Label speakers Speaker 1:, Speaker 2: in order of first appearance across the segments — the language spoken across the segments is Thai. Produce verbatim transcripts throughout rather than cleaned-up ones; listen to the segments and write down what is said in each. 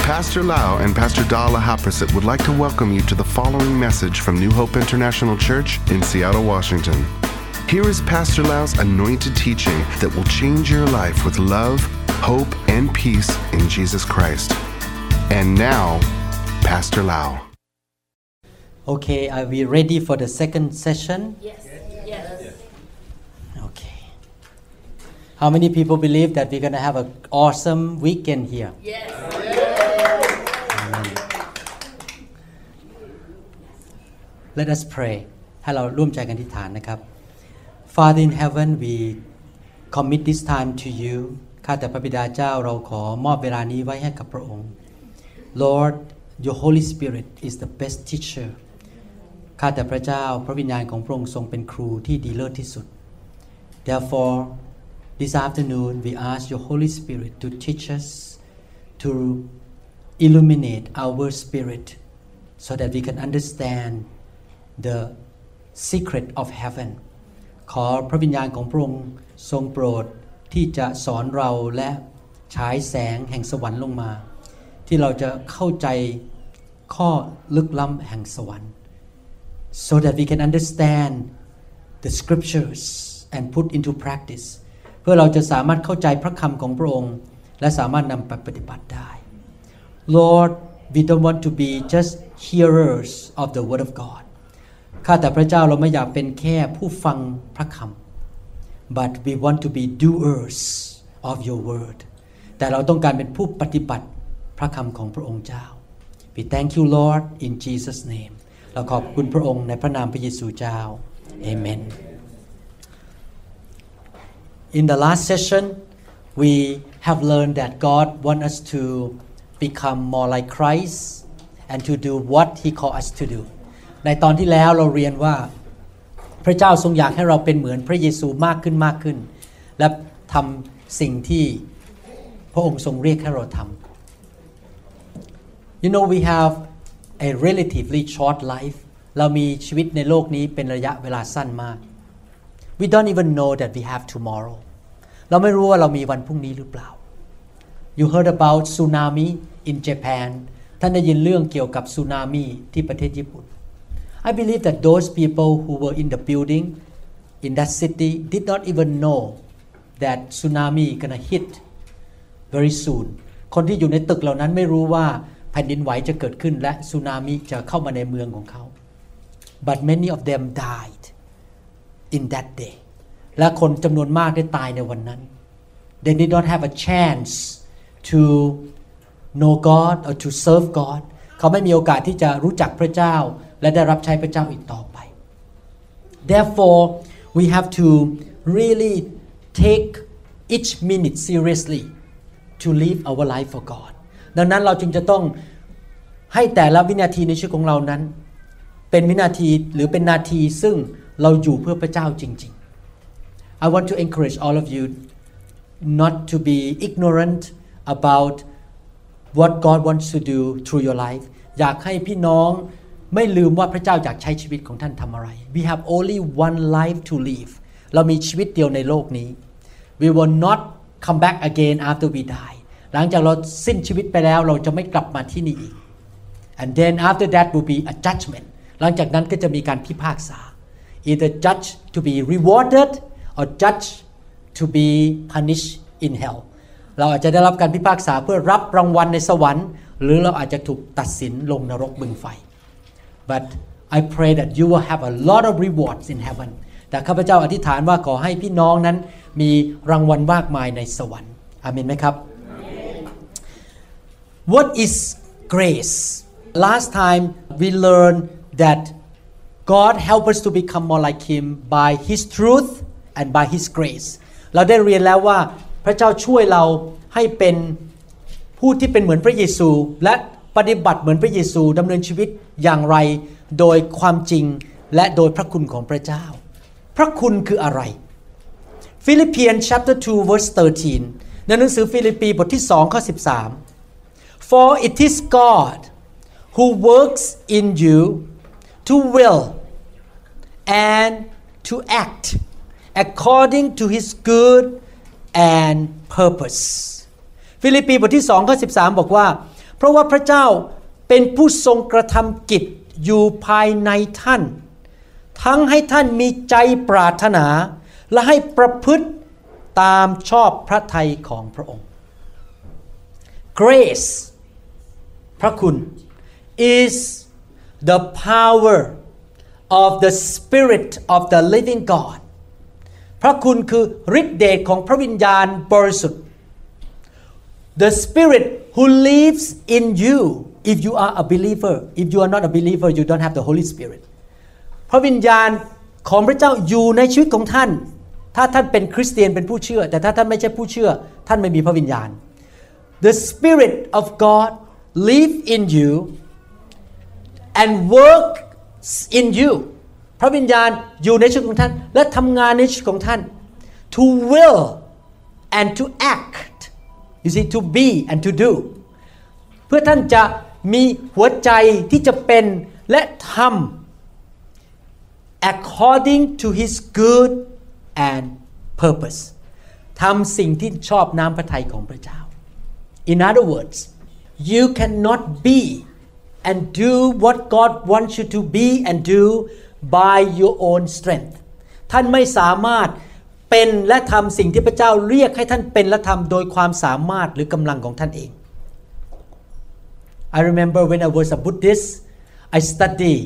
Speaker 1: Pastor Lau and Pastor Dala Haprasit would like to welcome you to the following message from New Hope International Church in Seattle, Washington. Here is Pastor Lau's anointed teaching that will change your life with love, hope, and peace in Jesus Christ. And now, Pastor Lau.
Speaker 2: Okay, are we ready for the second session?
Speaker 3: Yes. Yes.
Speaker 2: Okay. How many people believe that we're going to have an awesome weekend here?
Speaker 3: Yes.
Speaker 2: Amen. Let us pray. ให้เราร่วมใจกันอธิษฐานนะครับ Father in heaven, we commit this time to you. ข้าแต่พระบิดาเจ้าเราขอมอบเวลานี้ไว้ให้กับพระองค์ Lord, your Holy Spirit is the best teacher. ข้าแต่พระเจ้าพระวิญญาณของพระองค์ทรงเป็นครูที่ดีเลิศที่สุด Therefore, this afternoon we ask your Holy Spirit to teach us, to illuminate our spirit so that we can understand the secret of heaven. ขอพระวิญญาณของพระองค์ทรงโปรดที่จะสอนเราและฉายแสงแห่งสวรรค์ลงมาที่เราจะเข้าใจข้อลึกล้ำแห่งสวรรค์ so that we can understand the scriptures and put into practice เพื่อเราจะสามารถเข้าใจพระคำของพระองค์และสามารถนำไปปฏิบัติได้ Lord, we don't want to be just hearers of the word of God ข้าแต่พระเจ้าเราไม่อยากเป็นแค่ผู้ฟังพระคำ but we want to be doers of your word แต่เราต้องการเป็นผู้ปฏิบัติพระคำของพระองค์เจ้า We thank you Lord in Jesus name เราขอบคุณพระองค์ในพระนามพระเยซูเจ้า Amen In the last session we have learned that God wants us to become more like Christ and to do what he called us to do ในตอนที่แล้วเราเรียนว่าพระเจ้าทรงอยากให้เราเป็นเหมือนพระเยซูมากขึ้นมากขึ้นและทำสิ่งที่พระองค์ทรงเรียกให้เราทำ You know we have a relatively short life เรามีชีวิตในโลกนี้เป็นระยะเวลาสั้นมาก We don't even know that we have tomorrow เราไม่รู้ว่าเรามีวันพรุ่งนี้หรือเปล่า You heard about tsunami in Japan ท่านได้ยินเรื่องเกี่ยวกับสึนามิที่ประเทศญี่ปุ่น I believe that those people who were in the building in that city did not even know that tsunami gonna hit very soon คนที่อยู่ในตึกเหล่านั้นไม่รู้ว่าแผ่นดินไหวจะเกิดขึ้นและสึนามิจะเข้ามาในเมืองของเขา But many of them died in that day และคนจำนวนมากได้ตายในวันนั้น They did not have a chance to know God or to serve God เขาไม่มีโอกาสที่จะรู้จักพระเจ้าและได้รับใช้พระเจ้าอีกต่อไป Therefore we have to really take each minute seriously to live our life for God ดังนั้นเราจึงจะต้องให้แต่ละวินาทีในชีวิตของเรานั้นเป็นวินาทีหรือเป็นนาทีซึ่งเราอยู่เพื่อพระเจ้าจริงๆ I want to encourage all of you not to be ignorant about what God wants to do through your life อยากให้พี่น้องไม่ลืมว่าพระเจ้าอยากใช้ชีวิตของท่านทำอะไร We have only one life to live เรามีชีวิตเดียวในโลกนี้ We will not come back again after we die หลังจากเราสิ้นชีวิตไปแล้วเราจะไม่กลับมาที่นี่อีก And then after that will be a judgment หลังจากนั้นก็จะมีการพิพากษา Either judge to be rewarded or judge to be punished in hell เราอาจจะได้รับการพิพากษาเพื่อรับรางวัลในสวรรค์หรือเราอาจจะถูกตัดสินลงนรกบึงไฟ But I pray that you will have a lot of rewards in heaven แต่ข้าพเจ้าอธิษฐานว่าขอให้พี่น้องนั้นมีรางวัลมากมายในสวรรค์อาเมนไหมครับ What is grace? Last time we learned that God help us to become more like Him by His truth and by His grace เราได้เรียนแล้วว่าพระเจ้าช่วยเราให้เป็นผู้ที่เป็นเหมือนพระเยซูและปฏิบัติเหมือนพระเยซูดำเนินชีวิตอย่างไรโดยความจริงและโดยพระคุณของพระเจ้าพระคุณคืออะไร Philippians chapter two verse thirteen ในหนังสือฟิลิปปีบทที่สองข้อสิบสาม For it is God who works in you to will and to act according to His good and purpose ฟิลิปปีบทที่สองข้อสิบสามบอกว่าเพราะว่าพระเจ้าเป็นผู้ทรงกระทำกิจอยู่ภายในท่านทั้งให้ท่านมีใจปรารถนาและให้ประพฤติตามชอบพระทัยของพระองค์ Grace พระคุณ is the power of the Spirit of the living God พระคุณคือฤทธิเดชของพระวิญญาณบริสุทธิ์ The Spirit who lives in you if you are a believer if you are not a believer you don't have the Holy Spirit พระวิญญาณของพระเจ้าอยู่ในชีวิตของท่านถ้าท่านเป็นคริสเตียนเป็นผู้เชื่อแต่ถ้าท่านไม่ใช่ผู้เชื่อท่านไม่มีพระวิญญาณ The Spirit of God live in you and works in you พระวิญญาณอยู่ในชีวิตของท่านและทำงานในชีวิตของท่าน to will and to act you see to be and to do เพื่อท่านจะมีหัวใจที่จะเป็นและทำ according to his good and purpose ทำสิ่งที่ชอบน้ำพระทัยของพระเจ้า In other words you cannot be and do what God wants you to be and do by your own strength ท่านไม่สามารถเป็นและทำสิ่งที่พระเจ้าเรียกให้ท่านเป็นและทำโดยความสามารถหรือกำลังของท่านเอง I remember when I was a Buddhist I studied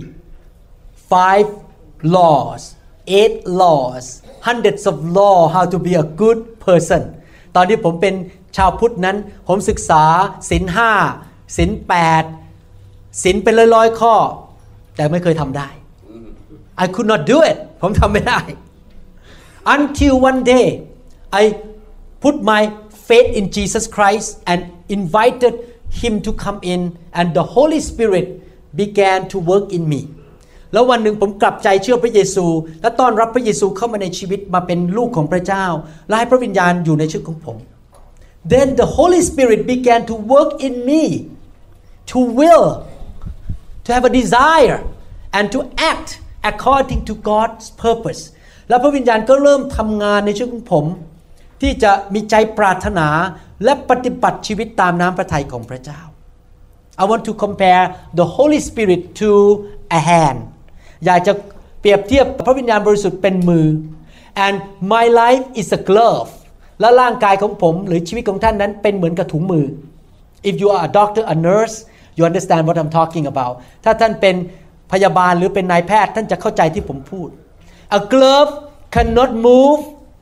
Speaker 2: five laws eight laws hundreds of law how to be a good person ตอนที่ผมเป็นชาวพุทธนั้นผมศึกษาศีลห้าศีลแปดศีลเป็นร้อยๆข้อแต่ไม่เคยทำได้ I could not do it ผมทำไม่ได้ until one day I put my faith in Jesus Christ and invited him to come in and the Holy Spirit began to work in me แล้ววันหนึ่งผมกลับใจเชื่อพระเยซูและต้อนรับพระเยซูเข้ามาในชีวิตมาเป็นลูกของพระเจ้าและให้พระวิญญาณอยู่ในชีวิตของผม Then the Holy Spirit began to work in me to will to have a desire and to act according to God's purpose แล้วพระวิญญาณก็เริ่มทำงานในชีวิตของผมที่จะมีใจปรารถนาและปฏิบัติชีวิตตามน้ำพระทัยของพระเจ้า I want to compare the Holy Spirit to a hand อยากจะเปรียบเทียบพระวิญญาณบริสุทธิ์เป็นมือ and my life is a glove และร่างกายของผมหรือชีวิตของท่านนั้นเป็นเหมือนกับถุงมือ if you are a doctor a nurse you understand what I'm talking about ถ้าท่านเป็นพยาบาลหรือเป็นนายแพทย์ท่านจะเข้าใจที่ผมพูด a glove cannot move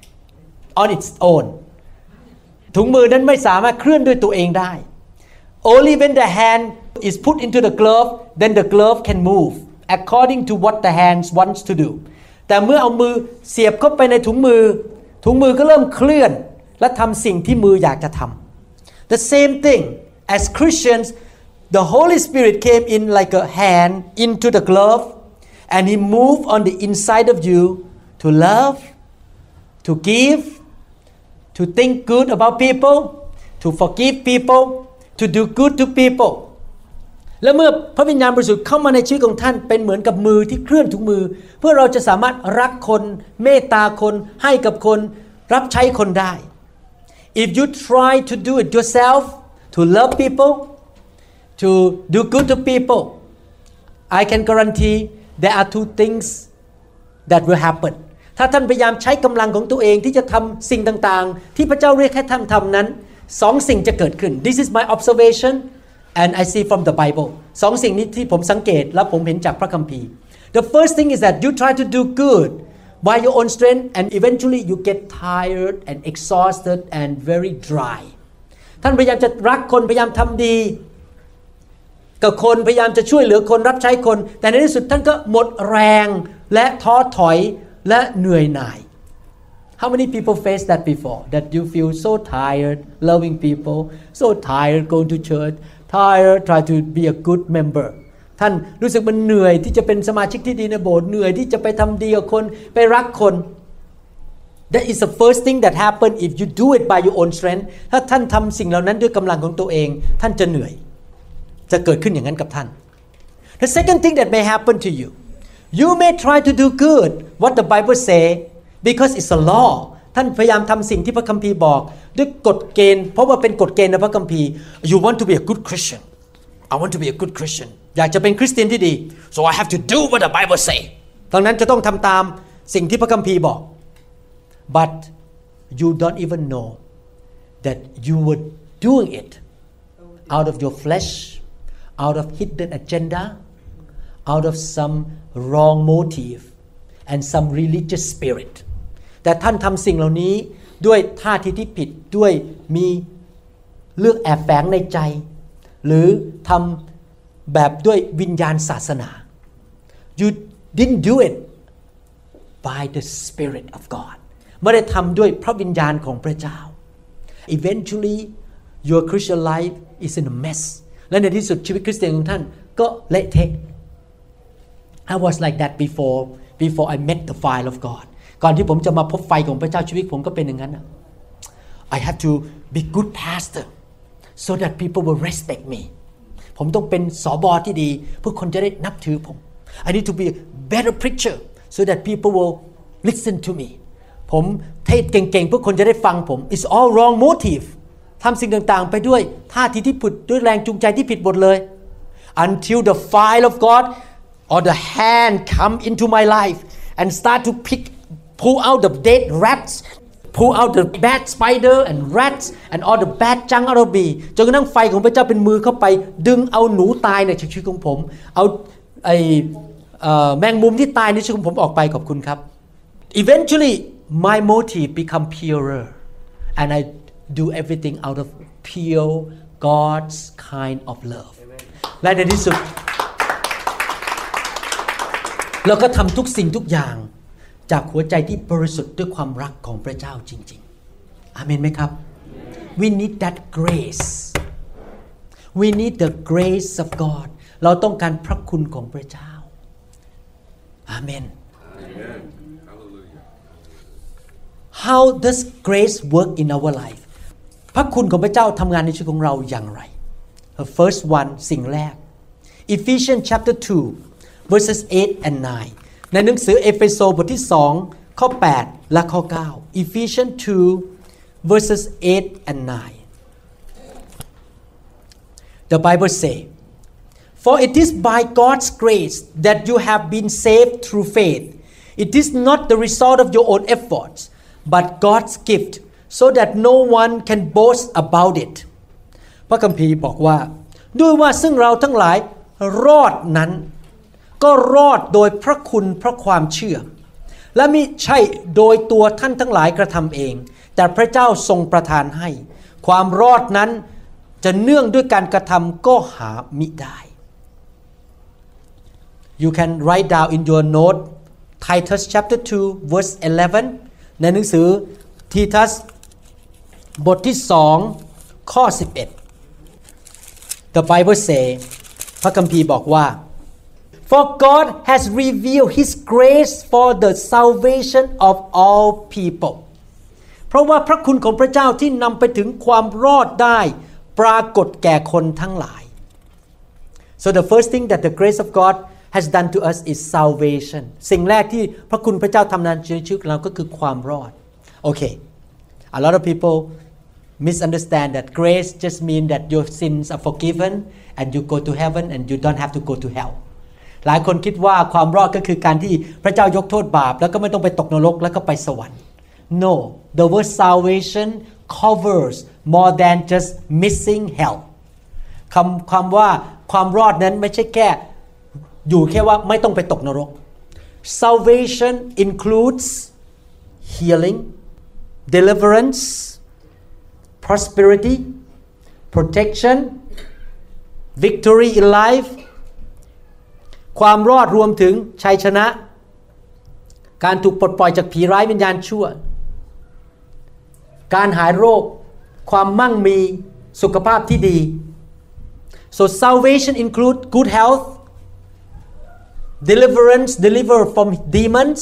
Speaker 2: on its own ถุงมือนั้นไม่สามารถเคลื่อนด้วยตัวเองได้ only when the hand is put into the glove then the glove can move according to what the hand wants to do แต่เมื่อเอามือเสียบเข้าไปในถุงมือถุงมือก็เริ่มเคลื่อนและทำสิ่งที่มืออยากจะทำ the same thing as Christians the Holy Spirit came in like a hand into the glove and he moved on the inside of you to love to give to think good about people to forgive people to do good to people และเมื่อพระวิญญาณบริสุทธิ์เข้ามาในชีวิตของท่านเป็นเหมือนกับมือที่เคลื่อนถุงมือเพื่อเราจะสามารถรักคนเมตตาคนให้กับคนรับใช้คนได้ if you try to do it yourself to love people to do good to people I can guarantee there are two things that will happen ถ้าท่านพยายามใช้กำลังของตัวเองที่จะทำสิ่งต่างๆที่พระเจ้าเรียกให้ท่านทำนั้นสองสิ่งจะเกิดขึ้น This is my observation and I see from the Bible สองสิ่งนี้ที่ผมสังเกตและผมเห็นจากพระคัมภีร์ The first thing is that you try to do good by your own strength and eventually you get tired and exhausted and very dry ท่านพยายามจะรักคนพยายามทำดีกับคนพยายามจะช่วยเหลือคนรับใช้คนแต่ในที่สุดท่านก็หมดแรงและท้อถอยและเหนื่อยหน่าย How many people face that before that you feel so tired loving people so tired going to church tired try to be a good member ท่านรู้สึกมันเหนื่อยที่จะเป็นสมาชิกที่ดีในโบสถ์เหนื่อยที่จะไปทำดีกับคนไปรักคน That is the first thing that happen if you do it by your own strength ถ้าท่านทำสิ่งเหล่านั้นด้วยกำลังของตัวเองท่านจะเหนื่อยจะเกิดขึ้นอย่างนั้นกับท่าน The second thing that may happen to you you may try to do good what the Bible say because it's a law ท่านพยายามทำสิ่งที่พระคัมภีร์บอกด้วยกฎเกณฑ์เพราะว่าเป็นกฎเกณฑ์ในพระคัมภีร์ you want to be a good Christian
Speaker 3: I want to be a good Christian
Speaker 2: อยากจะเป็นคริสเตียนที่ดี
Speaker 3: so I have to do what the Bible say
Speaker 2: ดังนั้นจะต้องทำตามสิ่งที่พระคัมภีร์บอก but you don't even know that you were doing it out of your flesh out of hidden agenda out of some wrong motive and some religious spirit แต่ท่านทำสิ่งเหล่านี้ด้วยท่าทีที่ผิดด้วยมีเรื่องแอบแฝงในใจหรือทำแบบด้วยวิญญาณศาสนา you didn't do it by the Spirit of God ไม่ได้ทำด้วยพระวิญญาณของพระเจ้า eventually your Christian life is in a mess และในที่สุดชีวิตคริสเตียนของท่านก็เละเทะ I was like that before before I met the fire of God ก่อนที่ผมจะมาพบไฟของพระเจ้าชีวิตผมก็เป็นอย่างนั้น I had to be good pastor so that people will respect me ผมต้องเป็นสบที่ดีเพื่อคนจะได้นับถือผม I need to be a better preacher so that people will listen to me ผมเทศเก่งๆเพื่อคนจะได้ฟังผม It's all wrong motive ทำสิ่งต่างๆไปด้วยท่าทีที่ผิดด้วยแรงจูงใจที่ผิดหมดเลย Until the fire of God or the hand come into my life and start to pick pull out the dead rats pull out the bad spider and rats and all the bad junk out of me จนกระทั่งไฟของพระเจ้าเป็นมือเข้าไปดึงเอาหนูตายในชีวิตของผมเอาไอ้แมงมุมที่ตายในชีวิตของผมออกไปขอบคุณครับ Eventually my motive become purer and I do everything out of pure God's kind of love และในที่สุดเราก็ทำทุกสิ่งทุกอย่างจากหัวใจที่บริสุทธิ์ด้วยความรักของพระเจ้าจริงๆอาเมนไหมครับ We need that grace We need the grace of God เราต้องการพระคุณของพระเจ้าอาเมน How does grace work in our life พระคุณของพระเจ้าทำงานในชีวิตของเราอย่างไร The first one สิ่งแรก Ephesians chapter two verses eight and nine ในหนังสือเอเฟโซบทที่สองข้อแปดและข้อเก้า Ephesians two verses eight and nine The Bible say For it is by God's grace that you have been saved through faith It is not the result of your own efforts but God's gift so that no one can boast about it พระคัมภีร์บอกว่าด้วยว่าซึ่งเราทั้งหลายรอดนั้นก็รอดโดยพระคุณเพราะความเชื่อและมิใช่โดยตัวท่านทั้งหลายกระทำเองแต่พระเจ้าทรงประทานให้ความรอดนั้นจะเนื่องด้วยการกระทำก็หามิได้ You can write down in your note Titus chapter two verse eleven ในหนังสือทีทัสบทที่สองข้อสิบเอ็ด The Bible say พระคัมภีร์บอกว่าFor God has revealed His grace for the salvation of all people เพราะว่าพระคุณของพระเจ้าที่นำไปถึงความรอดได้ปรากฏแก่คนทั้งหลาย So the first thing that the grace of God has done to us is salvation สิ่งแรกที่พระคุณพระเจ้าทำในชีวิตเราก็คือความรอด Okay a lot of people misunderstand that grace just mean that your sins are forgiven and you go to heaven and you don't have to go to hellหลายคนคิดว่าความรอดก็คือการที่พระเจ้ายกโทษบาปแล้วก็ไม่ต้องไปตกนรกแล้วก็ไปสวรรค์ No the word salvation covers more than just missing hell คำคำว่าความรอดนั้นไม่ใช่แค่อยู่แค่ว่าไม่ต้องไปตกนรก Salvation includes healing deliverance prosperity protection victory in lifeความรอดรวมถึงชัยชนะการถูกปลดปล่อยจากผีร้ายวิญญาณชั่วการหายโรคความมั่งมีสุขภาพที่ดี so salvation include good health deliverance deliver from demons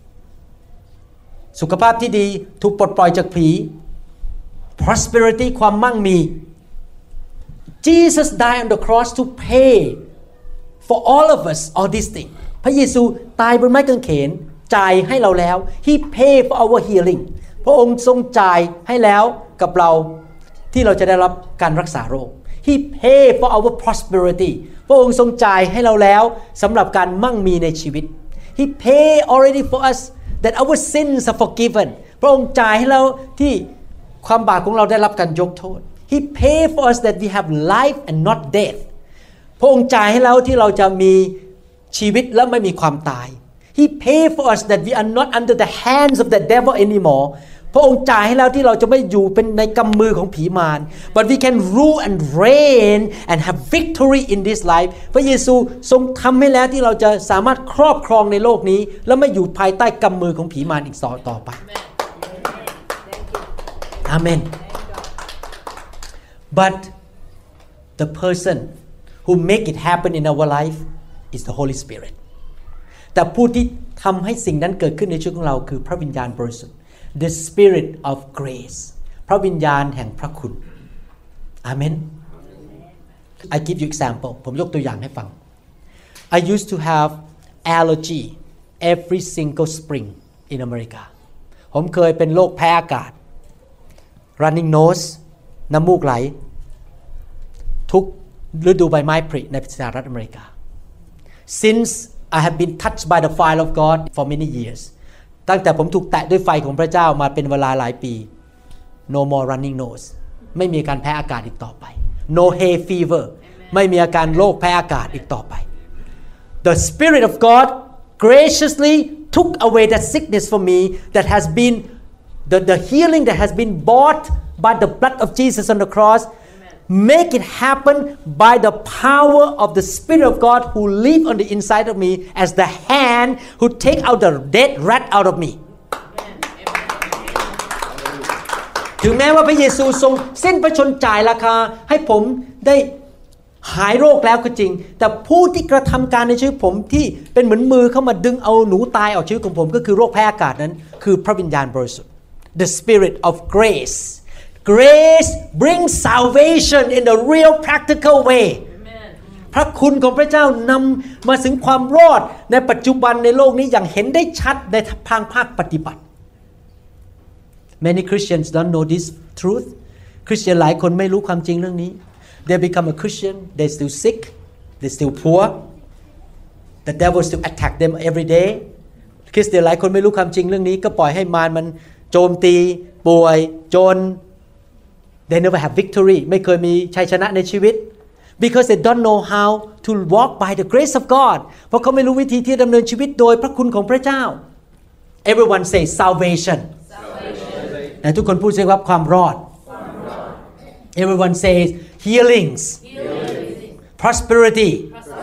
Speaker 2: สุขภาพที่ดีถูกปลดปล่อยจากผี prosperity ความมั่งมี Jesus died on the cross to pay for all of us all these things พระเยซูตายบนไม้กางเขนจ่ายให้เราแล้ว He paid for our healing พระองค์ทรงจ่ายให้แล้วกับเราที่เราจะได้รับการรักษาโรค He paid for our prosperity พระองค์ทรงจ่ายให้เราแล้วสำหรับการมั่งมีในชีวิต He paid already for us that our sins are forgiven พระองค์จ่ายให้เราที่ความบาปของเราได้รับการยกโทษ He paid for us that we have life and not death พระองค์จ่ายให้เราที่เราจะมีชีวิตและไม่มีความตาย He paid for us that we are not under the hands of the devil anymore พระองค์จ่ายให้เราที่เราจะไม่อยู่เป็นในกำมือของผีมาร but we can rule and reign and have victory in this life พระเยซูทรงทำให้แล้วที่เราจะสามารถครอบครองในโลกนี้และไม่อยู่ภายใต้กำมือของผีมารอีกต่อไปอาเมน but the person who make it happen in our life is the Holy Spirit แต่ผู้ที่ทำให้สิ่งนั้นเกิดขึ้นในชีวิตของเราคือพระวิญญาณบริสุทธิ์ the Spirit of grace พระวิญญาณแห่งพระคุณอาเมน I give you example ผมยกตัวอย่างให้ฟัง I used to have allergy every single spring in America ผมเคยเป็นโรคแพ้อากาศ running nose น้ำมูกไหลทุกฤดูใบไม้ผลิในสหรัฐอเมริกา Since I have been touched by the fire of God for many years ตั้งแต่ผมถูกแตะด้วยไฟของพระเจ้ามาเป็นเวลาหลายปี No more running nose ไม่มีอาการแพ้อากาศอีกต่อไป No hay fever ไม่มีอาการโรคแพ้อากาศอีกต่อไป The Spirit of God graciously took away that sickness from me that has been the, the healing that has been bought by the blood of Jesus on the cross make it happen by the power of the Spirit of God who live on the inside of me as the hand who take out the dead rat out of me ถึงแม้ว่าพระเยซูทรงสิ้นพระชนม์จ่ายราคาให้ผมได้หายโรคแล้วก็จริงแต่ผู้ที่กระทำการในชีวิตผมที่เป็นเหมือนมือเข้ามาดึงเอาหนูตายออกชีวิตของผมก็คือโรคแพ้อากาศนั้นคือพระวิญญาณบริสุทธิ์ The Spirit of grace Grace brings salvation in a real practical way พระคุณของพระเจ้านำมาถึงความรอดในปัจจุบันในโลกนี้อย่างเห็นได้ชัดในทางภาคปฏิบัติ Many Christians don't know this truth คริสเตียนหลายคนไม่รู้ความจริงเรื่องนี้ They become a Christian they still sick they still poor the devil still attack them every day คริสเตียนหลายคนไม่รู้ความจริงเรื่องนี้ก็ปล่อยให้มารมันโจมตีป่วยจนThey never have victory ไม่เคยมีชัยชนะในชีวิต because they don't know how to walk by the grace of God เพราะเขาไม่รู้วิธีที่ดำเนินชีวิตโดยพระคุณของพระเจ้า Everyone say salvation แต่ทุกคนพูดสิครับความรอด Everyone says healings prosperity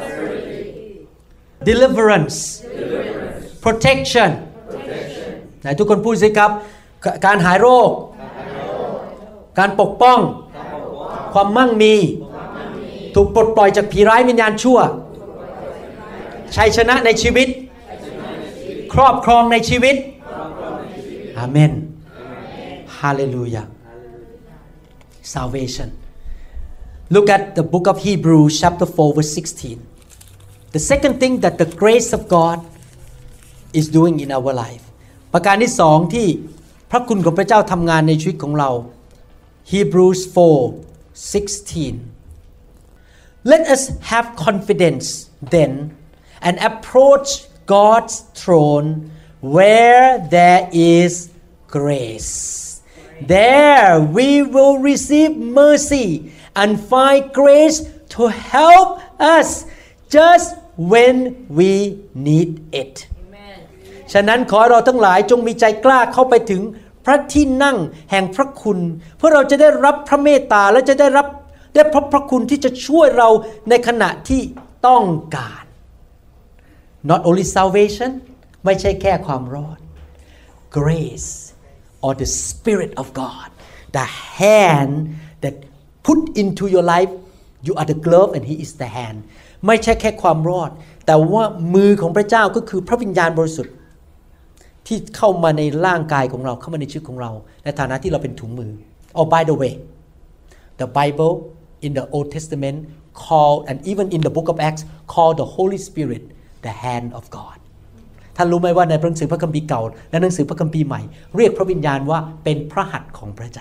Speaker 2: deliverance protection แต่ทุกคนพูดสิครับการหายโรคการปกป้องความมั่งมีถูกปลดปล่อยจากผีร้ายวิญญาณชั่วชัยชนะในชีวิตครอบครองในชีวิตอาเมนฮาเลลูยา Salvation Look at the book of Hebrews chapter four verse sixteen The second thing that the grace of God is doing in our life ประการที่สองที่พระคุณของพระเจ้าทำงานในชีวิตของเราHebrews four sixteen Let us have confidence then and approach God's throne where there is grace. There we will receive mercy and find grace to help us just when we need it. ฉะนั้นขอเราทั้งหลายจงมีใจกล้าเข้าไปถึงพระที่นั่งแห่งพระคุณเพื่อเราจะได้รับพระเมตตาและจะได้รับได้พบพระคุณที่จะช่วยเราในขณะที่ต้องการ Not only salvation ไม่ใช่แค่ความรอด Grace or the Spirit of God the hand that put into your life you are the glove and He is the hand ไม่ใช่แค่ความรอดแต่ว่ามือของพระเจ้าก็คือพระวิญญาณบริสุทธิ์ที่เข้ามาในร่างกายของเราเข้ามาในชีวิตของเราในฐานะที่เราเป็นถุงมือ Oh by the way the Bible in the Old Testament call and even in the book of Acts call the Holy Spirit the hand of God ท่านรู้ไหมว่าในหนังสือพระคัมภีร์เก่าและหนังสือพระคัมภีร์ใหม่เรียกพระวิญญาณว่าเป็นพระหัตถ์ของพระเจ้า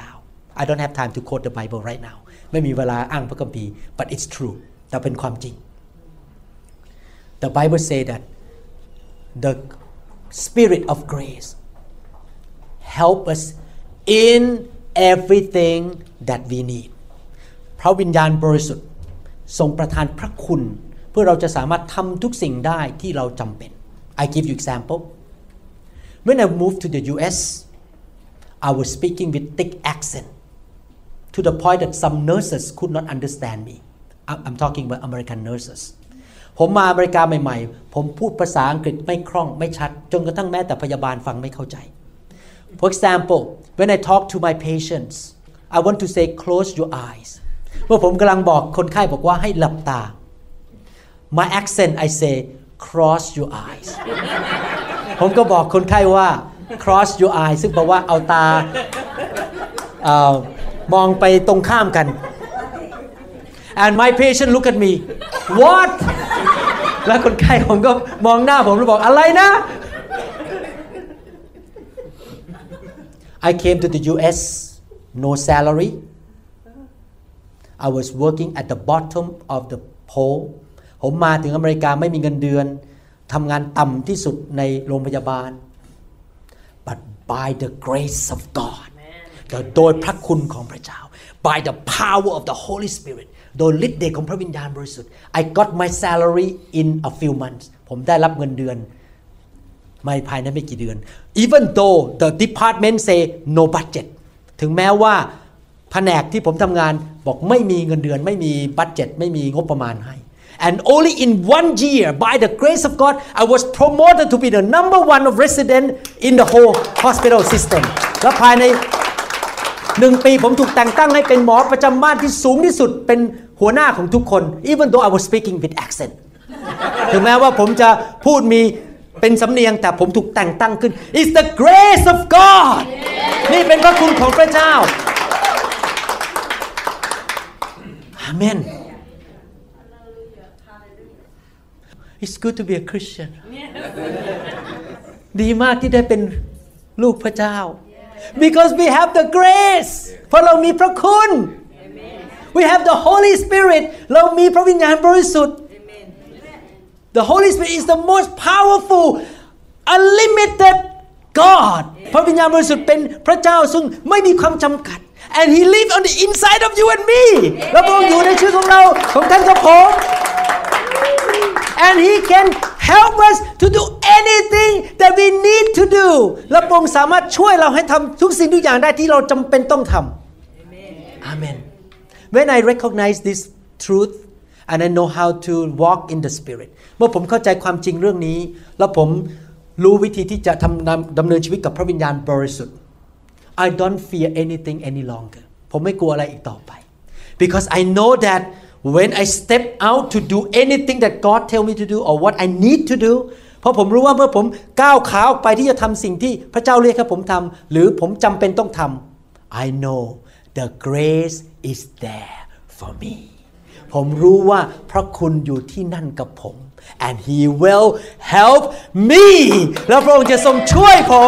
Speaker 2: I don't have time to quote the Bible right now ไม่มีเวลาอ้างพระคัมภีร์ but it's true แต่เป็นความจริง The Bible say that the Spirit of grace help us in everything that we need พระวิญญาณบริสุทธิ์ทรงประทานพระคุณเพื่อเราจะสามารถทำทุกสิ่งได้ที่เราจำเป็น I give you example when I moved to the ยู เอส I was speaking with thick accent to the point that some nurses could not understand me I'm talking about American nurses ผมมาอเมริกาใหม่ๆผมพูดภาษาอังกฤษไม่คล่องไม่ชัดจนกระทั่งแม้แต่พยาบาลฟังไม่เข้าใจ For example when I talk to my patients I want to say close your eyes เมื่อผมกำลังบอกคนไข้บอกว่าให้หลับตา My accent I say cross your eyes ผมก็บอกคนไข้ว่า cross your eyes ซึ่งแปลว่าเอาตาเอ่อมองไปตรงข้ามกัน and my patient look at me what แล้วคนไข้ผมก็มองหน้าผมแล้วบอกอะไรนะ I came to the ยู เอส no salary I was working at the bottom of the pole ผมมาถึงอเมริกาไม่มีเงินเดือนทำงานต่ำที่สุดในโรงพยาบาล but by the grace of God โดยพระคุณของพระเจ้า by the power of the Holy Spirit โดยฤทธิ์เดชของพระวิญญาณบริสุทธิ์ I got my salary in a few months ผมได้รับเงินเดือนไม่ภายในไม่กี่เดือน even though the department say no budget ถึงแม้ว่าแผนกที่ผมทำงานบอกไม่มีเงินเดือนไม่มีบัดเจ็ตไม่มีงบประมาณให้ and only in one year by the grace of God I was promoted to be the number one of resident in the whole hospital system และภายในหนึ่งปีผมถูกแต่งตั้งให้เป็นหมอประจำบ้านที่สูงที่สุดเป็นหัวหน้าของทุกคน even though I was speaking with accent ถึงแม้ว่าผมจะพูดมีเป็นสำเนียงแต่ผมถูกแต่งตั้งขึ้น It's the grace of God นี่เป็นพระคุณของพระเจ้าอาเมน It's good to be a Christian ดีมากที่ได้เป็นลูกพระเจ้า Because we have the grace เพราะเรามีพระคุณ We have the Holy Spirit เรามีพระวิญญาณบริสุทธิ์ The Holy Spirit is the most powerful unlimited God พระวิญญาณบริสุทธิ์เป็นพระเจ้าซึ่งไม่มีความจำกัด and He lives on the inside of you and me และพระองค์อยู่ในชีวิตของเราของท่านกับผม and He can help us to do anything that we need to do และพระองค์สามารถช่วยเราให้ทำทุกสิ่งทุกอย่างได้ที่เราจำเป็นต้องทำ Amen When I recognize this truth and I know how to walk in the Spirit เมื่อผมเข้าใจความจริงเรื่องนี้แล้วผมรู้วิธีที่จะทำดำเนินชีวิตกับพระวิญญาณบริสุทธิ์ I don't fear anything any longer ผมไม่กลัวอะไรอีกต่อไป because I know that when I step out to do anything that God tell me to do or what I need to do เพราะผมรู้ว่าเมื่อผมก้าวขาออกไปที่จะทำสิ่งที่พระเจ้าเรียกให้ผมทำหรือผมจำเป็นต้องทำ I know the grace is there for me ผมรู้ว่าพระคุณอยู่ที่นั่นกับผม and He will help me แล้วพระองค์จะทรงช่วยผม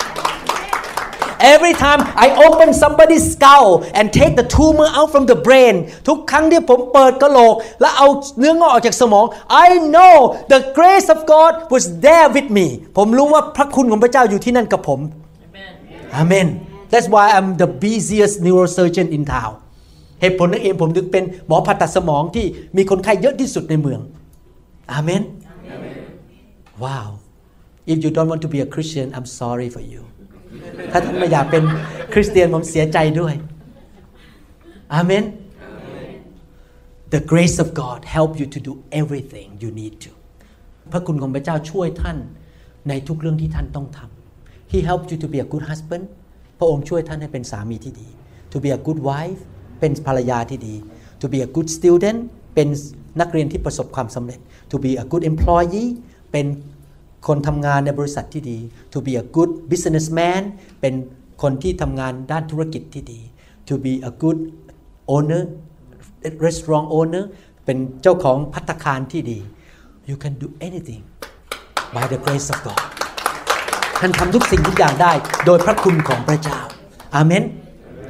Speaker 2: Every time I open somebody's skull and take the tumor out from the brain ทุกครั้งที่ผมเปิดกะโหลกและเอาเนื้องอกออกจากสมอง I know the grace of God was there with me ผมรู้ว่าพระคุณของพระเจ้าอยู่ที่นั่นกับผม Amen That's why I'm the busiest neurosurgeon in town เหตุผลนั่นเองผมถึงเป็นหมอผ่าตัดสมองที่มีคนไข้เยอะที่สุดในเมือง Amen Wow If you don't want to be a Christian I'm sorry for you ถ้าท่านไม่อยากเป็นคริสเตียนผมเสียใจด้วย Amen The grace of God help you to do everything you need to พระคุณของพระเจ้าช่วยท่านในทุกเรื่องที่ท่านต้องทำ He helped you to be a good husband พระองค์ช่วยท่านให้เป็นสามีที่ดี To be a good wife เป็นภรรยาที่ดี To be a good student เป็นนักเรียนที่ประสบความสำเร็จ To be a good employee เป็นคนทำงานในบริษัทที่ดี To be a good businessman เป็นคนที่ทำงานด้านธุรกิจที่ดี To be a good owner restaurant owner เป็นเจ้าของภัตตาคารที่ดี You can do anything by the grace of God ท่านทำทุกสิ่งทุกอย่างได้โดยพระคุณของพระเจ้าอาเมน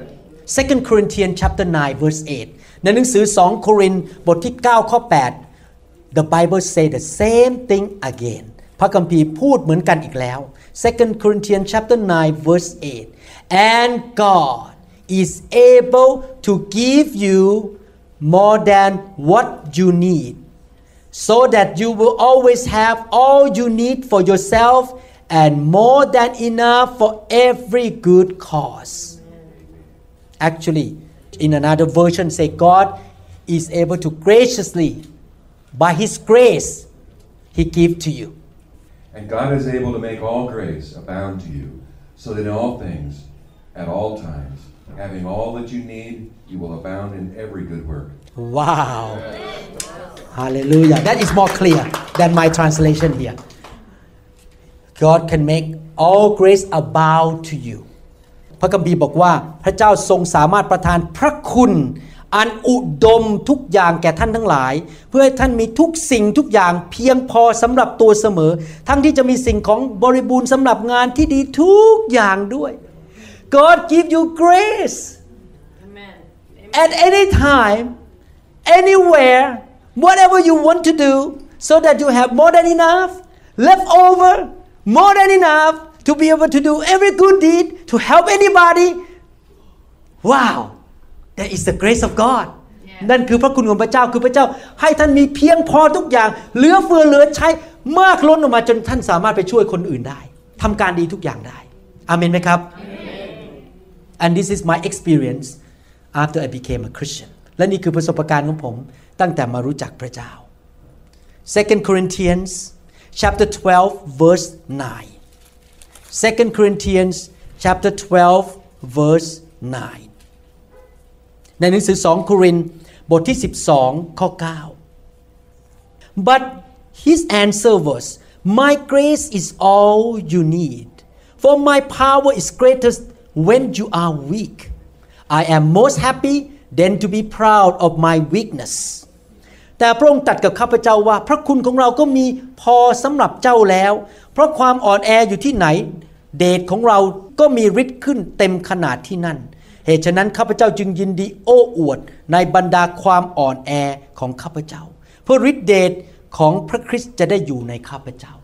Speaker 2: Second Corinthians chapter nine verse eight ในหนังสือสองโครินธ์บทที่เก้าข้อแปด The Bible say the same thing again พระคัมภีร์พูดเหมือนกันอีกแล้ว Second Corinthians chapter nine verse eight and God is able to give you more than what you need so that you will always have all you need for yourself and more than enough for every good cause. Actually, in another version say God is able to graciously, by His grace, He give to you.
Speaker 4: And God is able to make all grace abound to you, so that in all things, at all times, having all that you need, you will abound in every good work.
Speaker 2: Wow. Hallelujah. That is more clear than my translation here. God can make all grace abound to you. พระคัมภีร์บอกว่าพระเจ้าทรงสามารถประทานพระคุณอันอุดมทุกอย่างแก่ท่านทั้งหลายเพื่อให้ท่านมีทุกสิ่งทุกอย่างเพียงพอสำหรับตัวเสมอทั้งที่จะมีสิ่งของบริบูรณ์สำหรับงานที่ดีทุกอย่างด้วย God give you grace
Speaker 5: Amen.
Speaker 2: at any time anywhere whatever you want to do so that you have more than enough left over more than enough to be able to do every good deed to help anybody wow that is the grace of God นั่นคือพระคุณของพระเจ้าคือพระเจ้าให้ท่านมีเพียงพอทุกอย่างเหลือเฟือเหลือใช้มากล้นออกมาจนท่านสามารถไปช่วยคนอื่นได้ทำการดีทุกอย่างได้อาเมนไหมครับ and this is my experience after I became a Christian และนี่คือประสบการณ์ของผมตั้งแต่มารู้จักพระเจ้า Second Corinthians chapter twelve verse nine Second Corinthians chapter twelve verse nine ในหนังสือสองโครินธ์บทที่สิบสองข้อเก้า But his answer was My grace is all you need for my power is greatest when you are weak I am most happy then to be proud of my weakness แต่พระองค์ตรัสกับข้าพเจ้าว่าพระคุณของเราก็มีพอสำหรับเจ้าแล้วเพราะความอ่อนแออยู่ที่ไหนเดชของเราก็มีฤทธิ์ขึ้นเต็มขนาดที่นั่นเหตุฉะนั้นข้าพเจ้าจึงยินดีโอ้อวดในบรรดาความอ่อนแอของข้าพเจ้าเพื่อฤทธิ์เดชของพระคริสต์จะได้อยู่ในข้าพเจ้า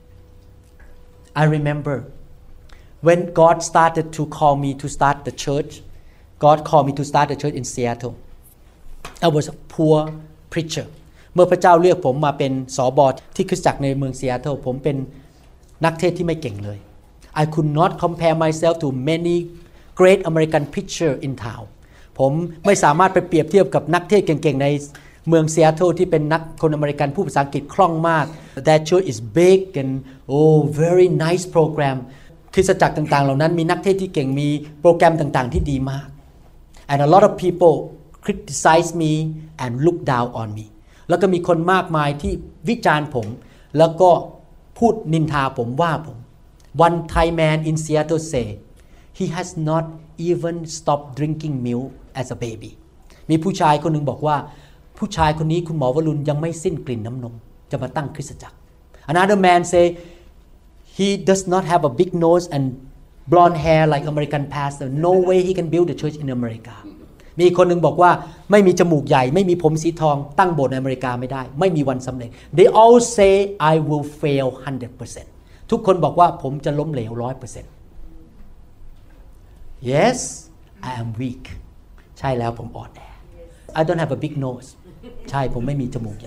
Speaker 2: I remember when God started to call me to start the church God called me to start the church in Seattle I was a poor preacher เมื่อพระเจ้าเลือกผมมาเป็นสบที่คริสตจักรในเมืองซีแอตเทิลผมเป็นนักเทศน์ที่ไม่เก่งเลย I could not compare myself to many great American preacher in town ผมไม่สามารถไปเปรียบเทียบกับนักเทศน์เก่งๆในเมืองซีแอตเทิลที่เป็นนักคนอเมริกันผู้ภาษาอังกฤษคล่องมาก That church is big and oh very nice program คริสตจักรต่างๆเหล่านั้นมีนักเทศน์ที่เก่งมีโปรแกรมต่างๆที่ดีมาก and a lot of people criticize me and look down on me แล้วก็มีคนมากมายที่วิจารณ์ผมแล้วก็พูดนินทาผมว่าผม One Thai man in Seattle say he has not even stopped drinking milk as a baby มีผู้ชายคนหนึ่งบอกว่าผู้ชายคนนี้คุณหมอวรุณยังไม่สิ้นกลิ่นน้ำนมจะมาตั้งคริสตจักร Another man say he does not have a big nose and blonde hair like American pastor no way he can build a church in America มีคนหนึ่งบอกว่าไม่มีจมูกใหญ่ไม่มีผมสีทองตั้งโบสถ์ในอเมริกาไม่ได้ไม่มีวันสำเร็จ They all say I will fail one hundred percent ทุกคนบอกว่าผมจะล้มเหลว one hundred percent Yes I am weak ใช่แล้วผมอ่อนแอ I don't have a big nose ใช่ผมไม่มีจมูกใหญ่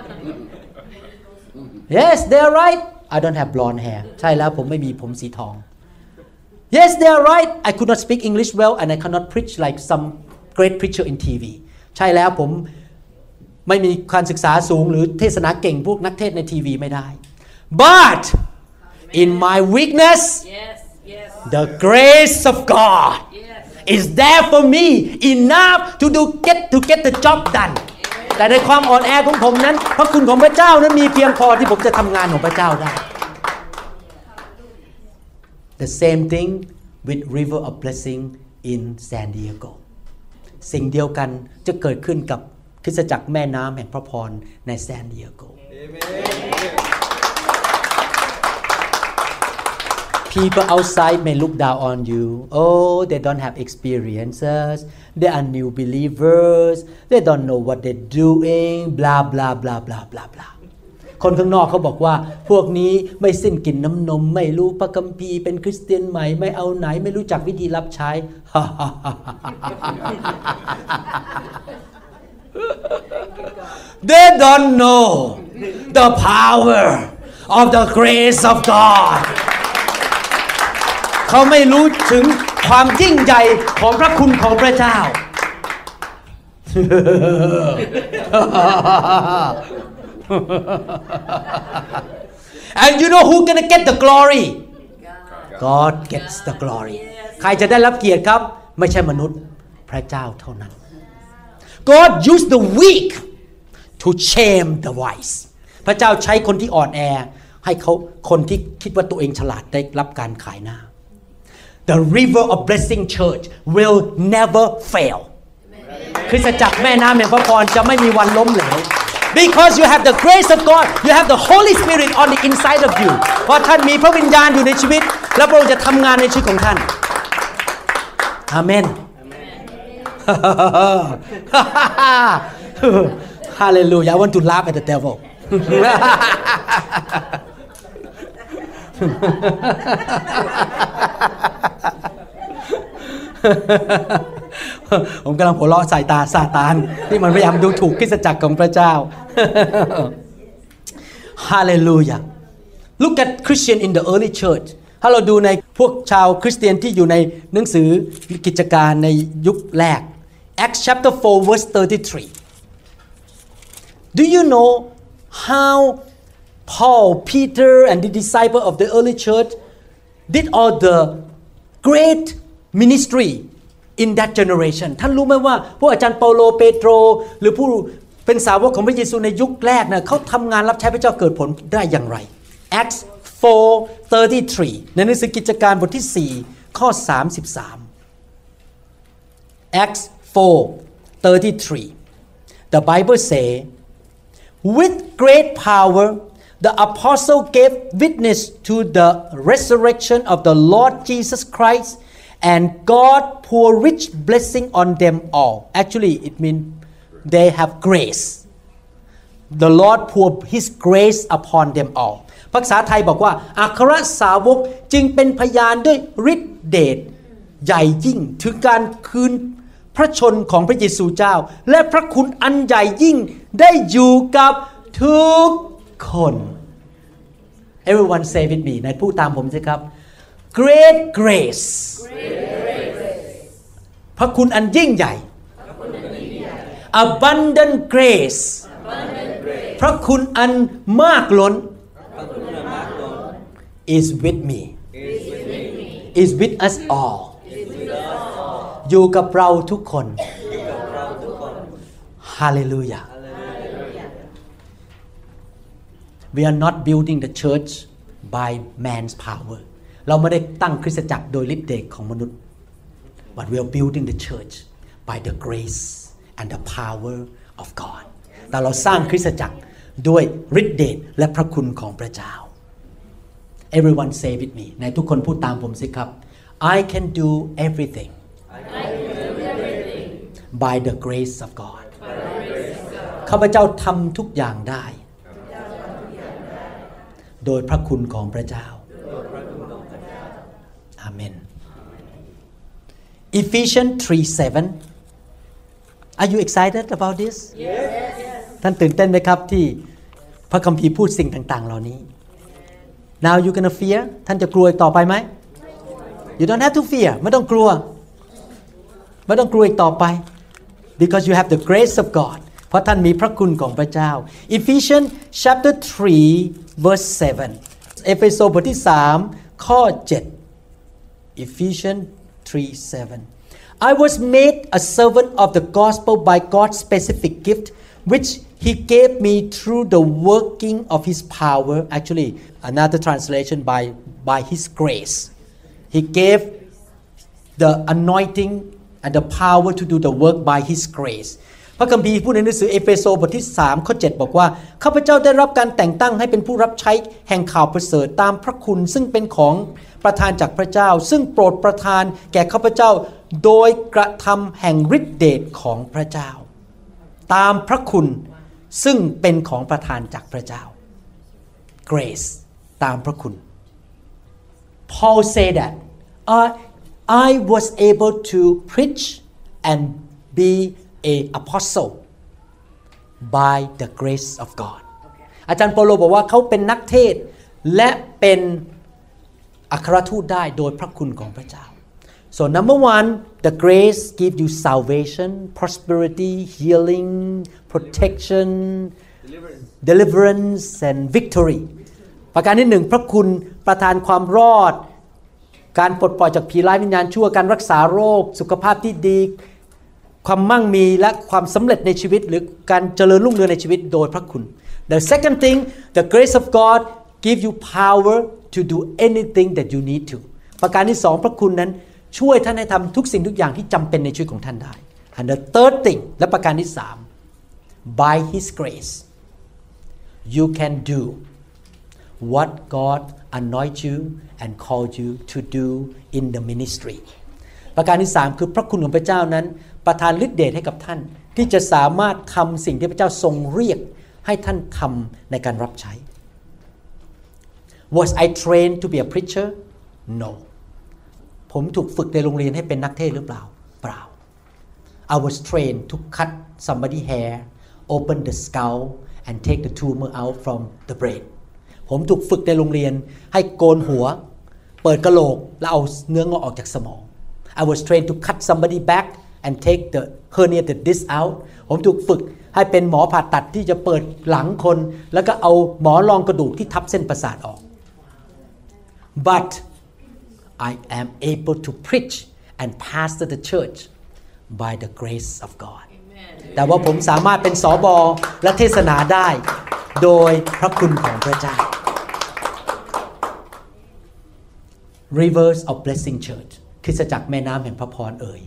Speaker 2: Yes they are right I don't have blonde hair ใช่แล้วผมไม่มีผมสีทอง Yes they are right I could not speak English well and I cannot preach like some great preacher in ที วี ใช่แล้วผมไม่มีการศึกษาสูงหรือเทศนาเก่งพวกนักเทศในทีวีไม่ได้ But in my weakness
Speaker 5: Yes, yes.
Speaker 2: the grace of God
Speaker 5: Yes.
Speaker 2: is there for me enough to do get to get the job done แต่ในความอ่อนแอของผมนั้นพระคุณของพระเจ้านั้นมีเพียงพอที่ผมจะทำงานของพระเจ้าได้ The same thing with River of Blessing in San Diego สิ่งเดียวกันจะเกิดขึ้นกับคริสตจักรแม่น้ำแห่งพระพรใน San Diego People outside may look down on you. Oh, they don't have experiences. They are new believers. They don't know what they're doing. Blah blah blah blah blah blah. คนข้างนอกเขาบอกว่าพวกนี้ไม่สิ้นกินน้ำนมไม่รู้พระคัมภีร์เป็นคริสเตียนใหม่ไม่เอาไหนไม่รู้จักวิธีรับใช้ They don't know the power of the grace of God เขาไม่รู้ถึงความยิ่งใหญ่ของพระคุณของพระเจ้า And you know who's gonna get the glory? God gets the glory. ใครจะได้รับเกียรติครับไม่ใช่มนุษย์พระเจ้าเท่านั้น God used the weak to shame the wise. พระเจ้าใช้คนที่อ่อนแอให้เขาคนที่คิดว่าตัวเองฉลาดได้รับการขายหน้า The river of blessing church will never fail. คริสตจักรแม่น้ำแห่งพระพรจะไม่มีวันล้มเหลว Because you have the grace of God, you have the Holy Spirit on the inside of you. เพราะท่านมีพระวิญญาณอยู่ในชีวิตและพระองค์จะทำงานในชีวิตของท่านอาเมน Hallelujah. I want to laugh at the devil. ผมกำลังหัวเราะสายตาซาตานที่มันพยายามดูถูกคริสตจักรของพระเจ้า Hallelujah. Look at Christian in the early church. ถ้าเราดูในพวกชาวคริสเตียนที่อยู่ในหนังสือกิจการในยุคแรก Acts chapter four verse thirty-three. Do you know how Paul, Peter and the disciple of the early church did all the great ministry in that generation ท่านรู้ไหมว่าพวกอาจารย์เปาโลเปโตรหรือผู้เป็นสาวกของพระเยซูในยุคแรกนะเขาทำงานรับใช้พระเจ้าเกิดผลได้อย่างไร Acts four thirty-three ในหนังสือกิจการบทที่สี่ข้อสามสิบสาม Acts four thirty-three The Bible say with great power the apostle gave witness to the resurrection of the Lord Jesus Christ and God poured rich blessing on them all. Actually, it means they have grace. The Lord poured His grace upon them all. ภาษาไทยบอกว่าอัครสาวกจึงเป็นพยานด้วยฤทธิเดชใหญ่ยิ่งถึงการคืนพระชนของพระเยซูเจ้าและพระคุณอันใหญ่ยิ่งได้อยู่กับทุกคน Everyone say with me ในพูดตามผมสิครับ Great grace พระคุณอันยิ่งใหญ่ Abundant grace พระคุณอันมากล้น is with me is with us all อยู่กับเราทุกคน Hallelujah We are not building the church by man's power เราไม่ได้ตั้งคริสตจักรโดยฤทธิ์เดชของมนุษย์ but we are building the church by the grace and the power of God แต่เราสร้างคริสตจักรด้วยฤทธิ์เดชและพระคุณของพระเจ้า Everyone say with me ในทุกคนพูดตามผมสิครับ I can do everything
Speaker 5: I can do everything
Speaker 2: by the grace of God ข้าพเจ้าทำทุกอย่างได้โดยพระคุณของพระเจ้าอาเมน Ephesians three seven Are you excited about this? Yes. ท่านตื่นเต้นไหมครับที่พระคัมภีร์พูดสิ่งต่างๆเหล่านี้ Now you gonna fear ท่านจะกลัวต่อไปไหม You don't have to fear ไม่ต้องกลัวไม่ต้องกลัวอีกต่อไป Because you have the grace of God เพราะท่านมีพระคุณของพระเจ้า Ephesians chapter three verse seven เอเฟโซบทที่สามข้อเจ็ด Ephesians three seven I was made a servant of the gospel by God's specific gift which He gave me through the working of His power actually another translation by by His grace He gave the anointing and the power to do the work by His grace พพระคัมภีร์พูดในหนังสือเอเฟโซบทที่สามข้อเจ็ดบอกว่าข้าพเจ้าได้รับการแต่งตั้งให้เป็นผู้รับใช้แห่งข่าวประเสริฐตามพระคุณซึ่งเป็นของประทานจากพระเจ้าซึ่งโปรดประทานแก่ข้าพเจ้าโดยกระทำแห่งฤทธิเดชของพระเจ้าตามพระคุณซึ่งเป็นของประทานจากพระเจ้า grace ตามพระคุณ Paul said that I, I was able to preach and be a apostle by the grace of God อาจารย์เปาโลบอกว่าเขาเป็นนักเทศและเป็นอัครทูตได้โดยพระคุณของพระเจ้า so number one the grace give you salvation prosperity healing protection deliverance, deliverance and victory ประการที่หนึ่งพระคุณประทานความรอดการปลดปล่อยจากผีร้ายวิญญาณชั่วการรักษาโรคสุขภาพที่ดีความมั่งมีและความสำเร็จในชีวิตหรือการเจริญรุ่งเรืองในชีวิตโดยพระคุณ The second thing the grace of God give you power to do anything that you need to ประการที่สองพระคุณนั้นช่วยท่านให้ทำทุกสิ่งทุกอย่างที่จำเป็นในชีวิตของท่านได้ And the third thing และประการที่สาม by His grace you can do what God anoint you and called you to do in the ministry ประการที่สามคือพระคุณของพระเจ้านั้นประทานฤทธิ์เดชให้กับท่านที่จะสามารถทำสิ่งที่พระเจ้าทรงเรียกให้ท่านทำในการรับใช้ Was I trained to be a preacher? No ผมถูกฝึกในโรงเรียนให้เป็นนักเทศหรือเปล่าเปล่า I was trained to cut somebody's hair open the skull and take the tumor out from the brain ผมถูกฝึกในโรงเรียนให้โกนหัวเปิดกะโหลกแล้วเอาเนื้องอกออกจากสมอง I was trained to cut somebody back and take the herniated disc out ผมถูกฝึกให้เป็นหมอผ่าตัดที่จะเปิดหลังคนแล้วก็เอาหมอรองกระดูกที่ทับเส้นประสาทออก but I am able to preach and pastor the church by the grace of God แต่ว่าผมสามารถเป็นสบและเทศนาได้โดยพระคุณของพระเจ้า Rivers of Blessing Church คริสตจักรแม่น้ำแห่งพระพรเอ่ย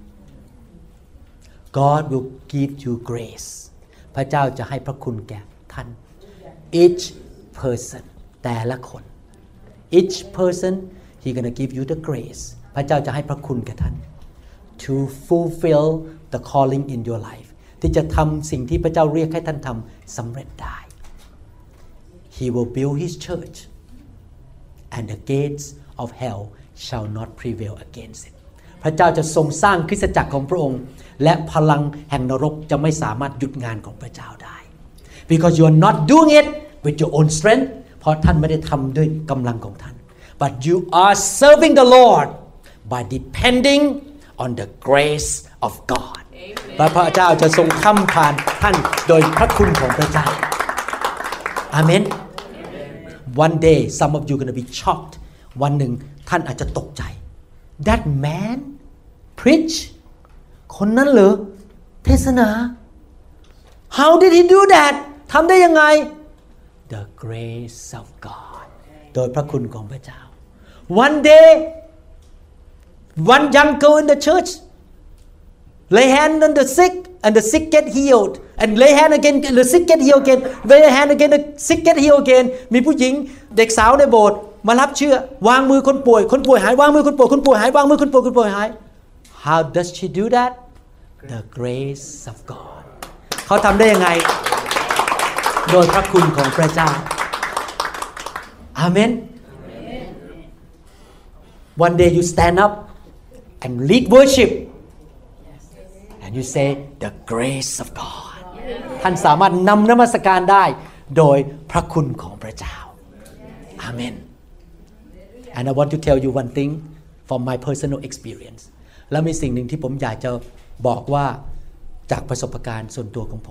Speaker 2: God will give you grace พระเจ้าจะให้พระคุณแก่ท่าน each person แต่ละคน each person He gonna give you the grace พระเจ้าจะให้พระคุณแก่ท่าน to fulfill the calling in your life ที่จะทำสิ่งที่พระเจ้าเรียกให้ท่านทำสำเร็จได้ He will build His church and the gates of hell shall not prevail against it พระเจ้าจะทรงสร้างคริสตจักรของพระองค์และพลังแห่งนรกจะไม่สามารถหยุดงานของพระเจ้าได้ because you are not doing it with your own strength เพราะท่านไม่ได้ทำด้วยกำลังของท่าน but you are serving the Lord by depending on the grace of God พระเจ้าจะทรงค้ำผ่านท่านโดยพระคุณของพระเจ้าอาเมน one day some of you gonna be shocked วันหนึ่งท่านอาจจะตกใจ that man preach คนนั้นเหรอเทศนา how did he do that ทำได้ยังไง the grace of God โดยพระคุณของพระเจ้า one day one young girl in the church lay hand on the sick and the sick get healed and lay hand again and the sick get healed again lay hand again the sick get healed again มีผู้หญิงเด็กสาวในโบสถ์มารับเชื่อวางมือคนป่วยคนป่วยหายวางมือคนป่วยคนป่วยหายวางมือคนป่วยคนป่วยหาย how does she do that the grace of God เขาทำได้ยังไงโดยพระคุณของพระเจ้าอาเมน one day you stand up and lead worship and you say the grace of God ท่านสามารถนำนมัสการได้โดยพระคุณของพระเจ้าอาเมน and I want to tell you one thing from my personal experience แล้วมีสิ่งหนึ่งที่ผมอยากจะบอกว่าจากประสบการณ์ส่วนตัวของผม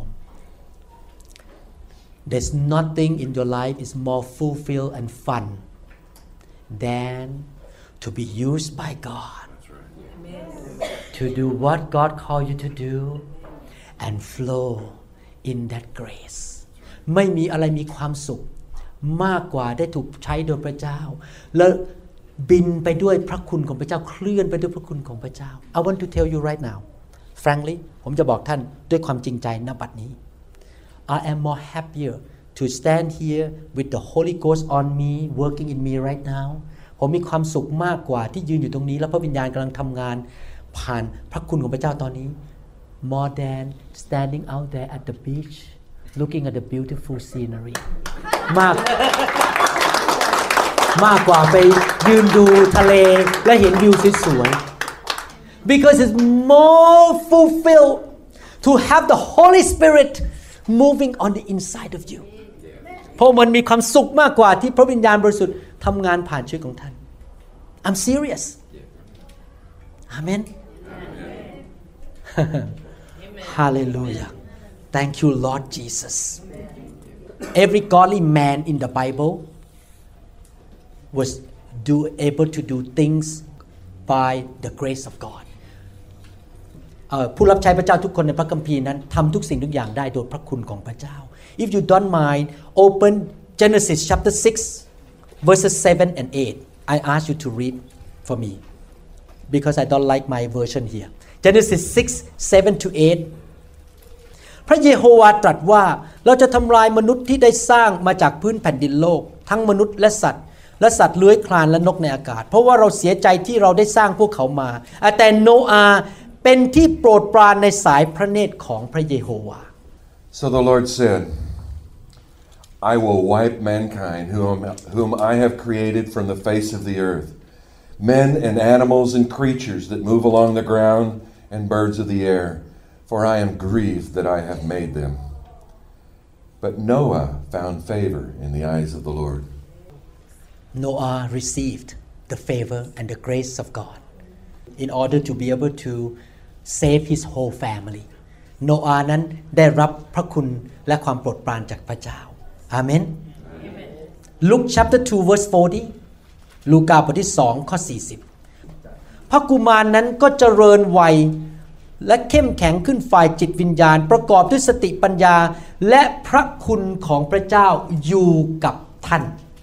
Speaker 2: There's nothing in your life is more fulfilled and fun than to be used by God to do what God called you to do and flow in that grace ไม่มีอะไรมีความสุขมากกว่าได้ถูกใช้โดยพระเจ้าและบินไปด้วยพระคุณของพระเจ้าเคลื่อนไปด้วยพระคุณของพระเจ้า I want to tell you right now frankly ผมจะบอกท่านด้วยความจริงใจณบัดนี้ I am more happier to stand here with the Holy Ghost on me working in me right now ผมมีความสุขมากกว่าที่ยืนอยู่ตรงนี้แล้วพระวิญญาณกำลังทำงานผ่านพระคุณของพระเจ้าตอนนี้ more than standing out there at the beach looking at the beautiful scenery มากมากกว่าไปยืนดูทะเลและเห็นวิวสวยๆ because it's more fulfilled to have the Holy Spirit moving on the inside of you เพราะมันมีความสุขมากกว่าที่พระวิญญาณบริสุทธิ์ทำงานผ่านชีวิตของท่าน I'm serious Amen Hallelujah Thank you Lord Jesus Every godly man in the Bible was do able to do things by the grace of God ผู้รับใช้พระเจ้าทุกคนในพระคัมภีร์นั้นทำทุกสิ่งทุกอย่างได้โดยพระคุณของพระเจ้า If you don't mind open Genesis chapter six verses seven and eight I ask you to read for me because I don't like my version here Genesis six seven to eight พระเยโฮวาตรัสว่าเราจะทำลายมนุษย์ที่ได้สร้างมาจากพื้นแผ่นดินโลกทั้งมนุษย์และสัตว์และสัตว์เลื้อยคลานและนกในอากาศเพราะว่าเราเสียใจที่เราได้สร้างพวกเขามาแต่โนอาห์เป็นที่โปรดปรานในสายพระเนตรของพระเยโฮวา
Speaker 4: So the Lord said, I will wipe mankind whom, whom I have created from the face of the earth, men and animals and creatures that move along the ground and birds of the air, for I am grieved that I have made them. But Noah found favor in the eyes of the Lord.
Speaker 2: Noah received the favor and the grace of God in order to be able to save his whole family. โนอาห์นั้นได้รับพระคุณและความโปรดปรานจากพระเจ้าอาเมน Luke chapter two verse forty ลูกาบทที่สองข้อสี่สิบพระกุมารนั้นก็เจริญวัยและเข้มแข็งขึ้นฝ่ายจิตวิญญาณประกอบด้วยสติปัญญาและพระคุณของพระเจ้าอยู่กับท่าน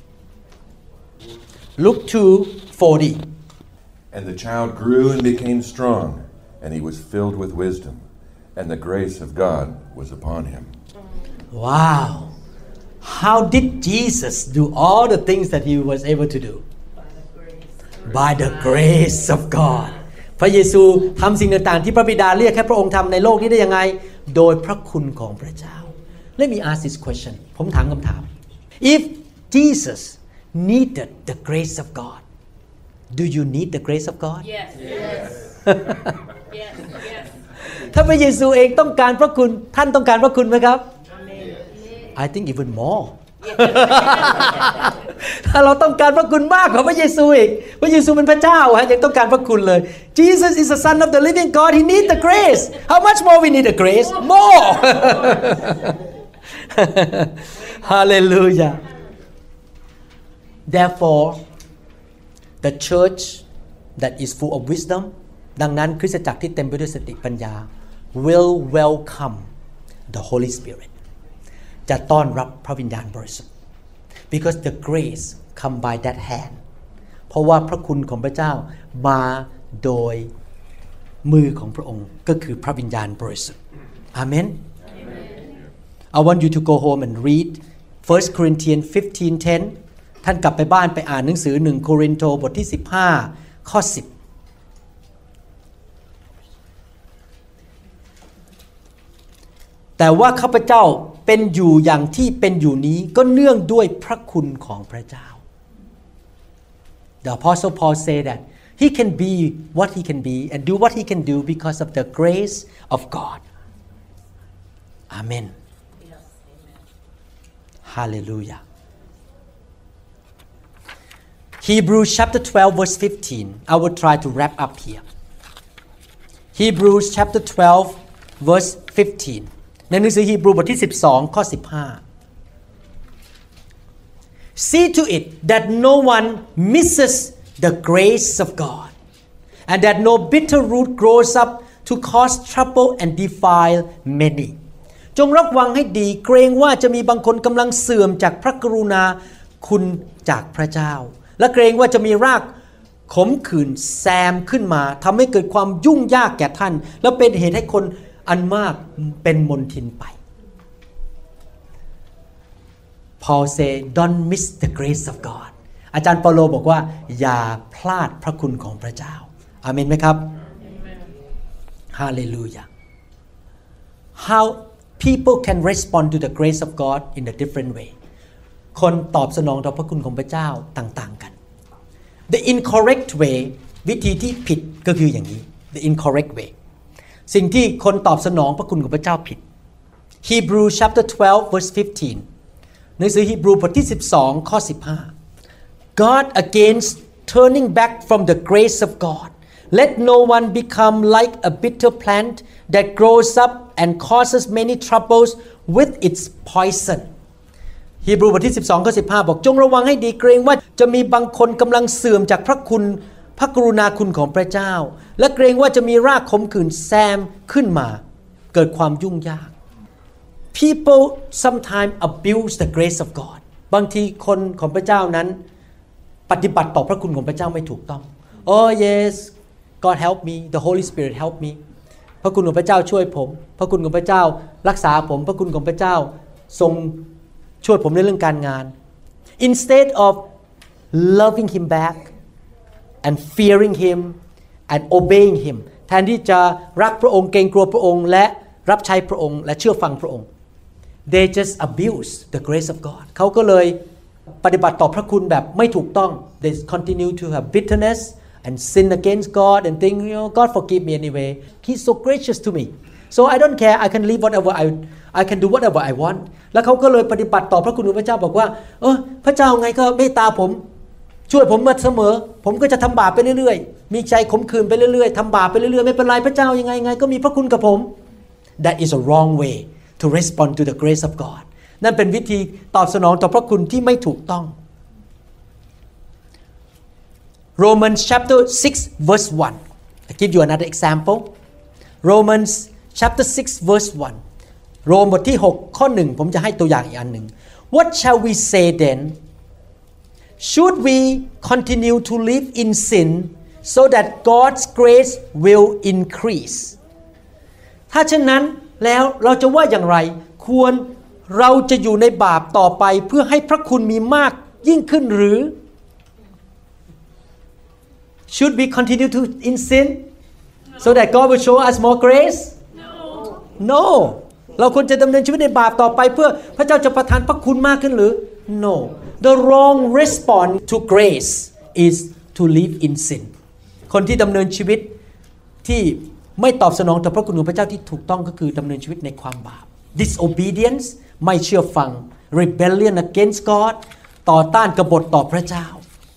Speaker 2: Luke two forty
Speaker 4: And the child grew and became strong, and he was filled with wisdom, and the grace of God was upon him.
Speaker 2: Wow! How did Jesus do all the things that he was able to do? By the grace of God. พระเยซูทำสิ่งต่างๆที่พระบิดาเรียกให้พระองค์ทำในโลกนี้ได้ยังไงโดยพระคุณของพระเจ้า Let me ask this question ผมถามคำถาม If Jesus needed the grace of God Do you need the grace of God?
Speaker 5: Yes. Yes. yes. Yes.
Speaker 2: ถ้าพระเยซูเองต้องการพระคุณท่านต้องการพระคุณไหมครับ I think even more ถ้าเราต้องการพระคุณมากกว่าพระเยซูอีกพระเยซูเป็นพระเจ้าฮะยังต้องการพระคุณเลย Jesus is the Son of the living God He needs the grace How much more we need the grace More Hallelujah Therefore The church that is full of wisdom ดังนั้นคริสตจักรที่เต็มไปด้วยสติปัญญา will welcome the Holy Spirit จะต้อนรับพระวิญญาณบริสุทธิ์ because the grace come by that hand เพราะว่าพระคุณของพระเจ้ามาโดยมือของพระองค์ก็คือพระวิญญาณบริสุทธิ์ Amen I want you to go home and read First Corinthians fifteen tenท่านกลับไปบ้านไปอ่านหนังสือหนึ่งโครินโตบทที่สิบห้าข้อสิบแต่ว่าข้าพเจ้าเป็นอยู่อย่างที่เป็นอยู่นี้ก็เนื่องด้วยพระคุณของพระเจ้า The Apostle Paul said that he can be what he can be and do what he can do because of the grace of God Amen Hallelujah Hebrews chapter twelve verse fifteen I will try to wrap up here Hebrews chapter twelve verse fifteen ในหนังสือฮีบรูบทที่สิบสองข้อสิบห้า See to it that no one misses the grace of God and that no bitter root grows up to cause trouble and defile many จงระวังให้ดีเกรงว่าจะมีบางคนกำลังเสื่อมจากพระกรุณาคุณจากพระเจ้าและเกรงว่าจะมีรากขมขื่นแซมขึ้นมาทำให้เกิดความยุ่งยากแก่ท่านแล้วเป็นเหตุให้คนอันมากเป็นมลทินไป Paul say don't miss the grace of God อาจารย์เปาโลบอกว่าอย่าพลาดพระคุณของพระเจ้าอาเมนไหมครับฮาเลลูยา How people can respond to the grace of God in a different way คนตอบสนองต่อพระคุณของพระเจ้าต่างๆกัน The incorrect way วิธีที่ผิดก็คืออย่างนี้ The incorrect way สิ่งที่คนตอบสนองพระคุณของพระเจ้าผิด Hebrew chapter twelve verse fifteen หนังสือฮีบรูบทที่สิบสองข้อสิบห้า God against turning back from the grace of God let no one become like a bitter plant that grows up and causes many troubles with its poison ฮีบรูบทที่สิบสองข้อสิบห้าบอกจงระวังให้ดีเกรงว่าจะมีบางคนกำลังเสื่อมจากพระคุณพระกรุณาคุณของพระเจ้าและเกรงว่าจะมีรากขมขื่นแซมขึ้นมาเกิดความยุ่งยาก People sometimes abuse the grace of God บางทีคนของพระเจ้านั้นปฏิบัติต่อพระคุณของพระเจ้าไม่ถูกต้อง Oh yes God help me the Holy Spirit help me พระคุณของพระเจ้าช่วยผมพระคุณของพระเจ้ารักษาผมพระคุณของพระเจ้าทรงช่วยผมในเรื่องการงาน Instead of loving him back and fearing him and obeying him แทนที่จะรักพระองค์เกรงกลัวพระองค์และรับใช้พระองค์และเชื่อฟังพระองค์ they just abuse the grace of God เขาก็เลยปฏิบัติต่อพระคุณแบบไม่ถูกต้อง they continue to have bitterness and sin against God and think you know God forgive me anyway He's so gracious to me so I don't care I can live whatever I I can do whatever I want แล้วเขาก็เลยปฏิบัติต่อพระคุณของพระเจ้าบอกว่าเออพระเจ้าไงก็เมตตาผมช่วยผมมาเสมอผมก็จะทำบาปไปเรื่อยๆมีใจขมขื่นไปเรื่อยๆทำบาปไปเรื่อยๆไม่เป็นไรพระเจ้ายังไงไงก็มีพระคุณกับผม That is a wrong way to respond to the grace of God นั่นเป็นวิธีตอบสนองต่อพระคุณที่ไม่ถูกต้อง Romans chapter six verse one I give you another example Romans chapter six verse one โรมบทที่หกข้อหนึ่งผมจะให้ตัวอย่างอีกอันหนึ่ง What shall we say then Should we continue to live in sin so that God's grace will increase ถ้าเช่นนั้นแล้วเราจะว่าอย่างไรควรเราจะอยู่ในบาปต่อไปเพื่อให้พระคุณมีมากยิ่งขึ้นหรือ Should we continue to in sin so that God will show us more grace
Speaker 5: No
Speaker 2: No เราควรจะดำเนินชีวิตในบาปต่อไปเพื่อพระเจ้าจะประทานพระคุณมากขึ้นหรือ No The wrong response to grace is to live in sin คนที่ดำเนินชีวิตที่ไม่ตอบสนองต่อพระคุณของพระเจ้าที่ถูกต้องก็คือดำเนินชีวิตในความบาป disobedience ไม่เชื่อฟัง rebellion against God ต่อต้านกบฏต่อพระเจ้า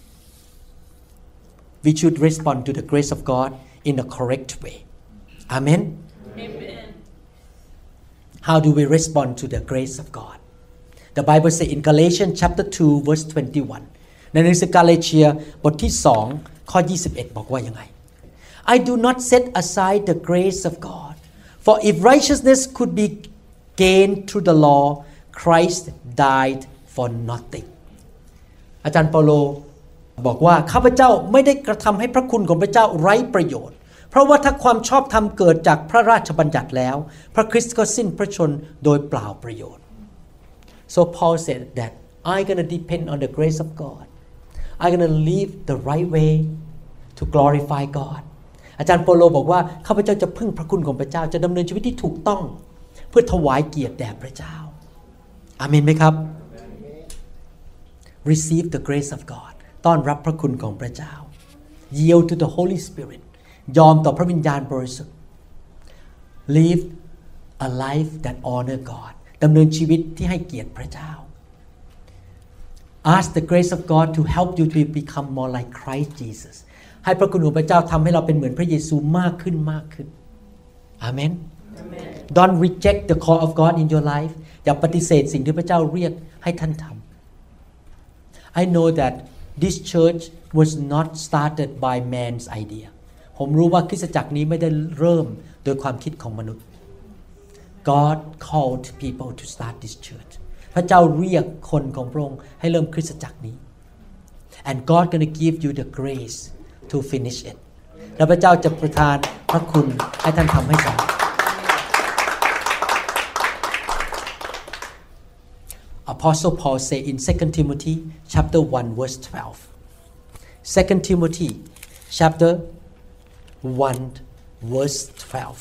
Speaker 2: we should respond to the grace of God in a correct way Amen
Speaker 5: Amen
Speaker 2: How do we respond to the grace of God The Bible says in Galatians chapter two verse twenty-one ในหนังสือกาลาเทียบทที่สองข้อยี่สิบเอ็ดบอกว่ายังไง I do not set aside the grace of God for if righteousness could be gained through the law Christ died for nothing อาจารย์เปาโลบอกว่าข้าพเจ้าไม่ได้กระทำให้พระคุณของพระเจ้าไร้ประโยชน์เพราะว่าถ้าความชอบธรรมเกิดจากพระราชบัญญัติแล้วพระคริสต์ก็สิ้นพระชนโดยเปล่าประโยชน์So Paul said that I'm going to depend on the grace of God. I'm going to live the right way to glorify God. อาจารย์เปาโลบอกว่าข้าพเจ้าจะพึ่งพระคุณของพระเจ้าจะดำเนินชีวิตที่ถูกต้องเพื่อถวายเกียรติแด่พระเจ้าอาเมนไหมครับ Receive the grace of God ต้อนรับพระคุณของพระเจ้า Yield to the Holy Spirit ยอมต่อพระวิญญาณบริสุทธิ์ Live a life that honor Godดำเนินชีวิตที่ให้เกียรติพระเจ้า Ask the grace of God to help you to become more like Christ Jesus ให้พระคุณของพระเจ้าทำให้เราเป็นเหมือนพระเยซูมากขึ้นมากขึ้น Amen Don't reject the call of God in your life อย่าปฏิเสธสิ่งที่พระเจ้าเรียกให้ท่านทำ I know that this church was not started by man's idea ผมรู้ว่าคริสตจักรนี้ไม่ได้เริ่มโดยความคิดของมนุษย์God called people to start this church พระเจ้าเรียกคนของพระองค์ให้เริ่มคริสตจักรนี้ and God gonna give you the grace to finish it และพระเจ้าจะประทานพระคุณให้ท่านทำให้สำเร็จ Apostle Paul say in Second Timothy chapter one verse twelve Second Timothy chapter one verse twelve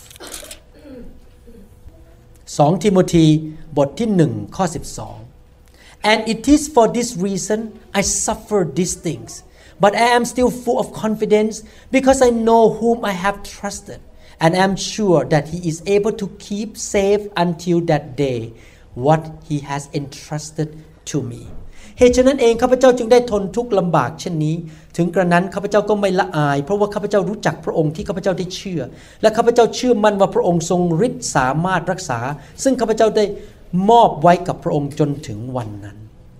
Speaker 2: สองทิโมธีบทที่หนึ่งข้อสิบสอง And it is for this reason I suffer these things but I am still full of confidence because I know whom I have trusted and I am sure that he is able to keep safe until that day what he has entrusted to me เหตุฉะนั้นเองข้าพเจ้าจึงได้ทนทุกข์ลำบากเช่นนี้ถึงกระนั้นข้าพเจ้าก็ไม่ละอายเพราะว่าข้าพเจ้ารู้จักพระองค์ที่ข้าพเจ้าได้เชื่อและข้าพเจ้าเชื่อมั่นว่าพระองค์ทรงฤทธิ์สามารถรักษาซึ่งข้าพเจ้าได้มอบไว้กับพระองค์จนถึงวันนั้น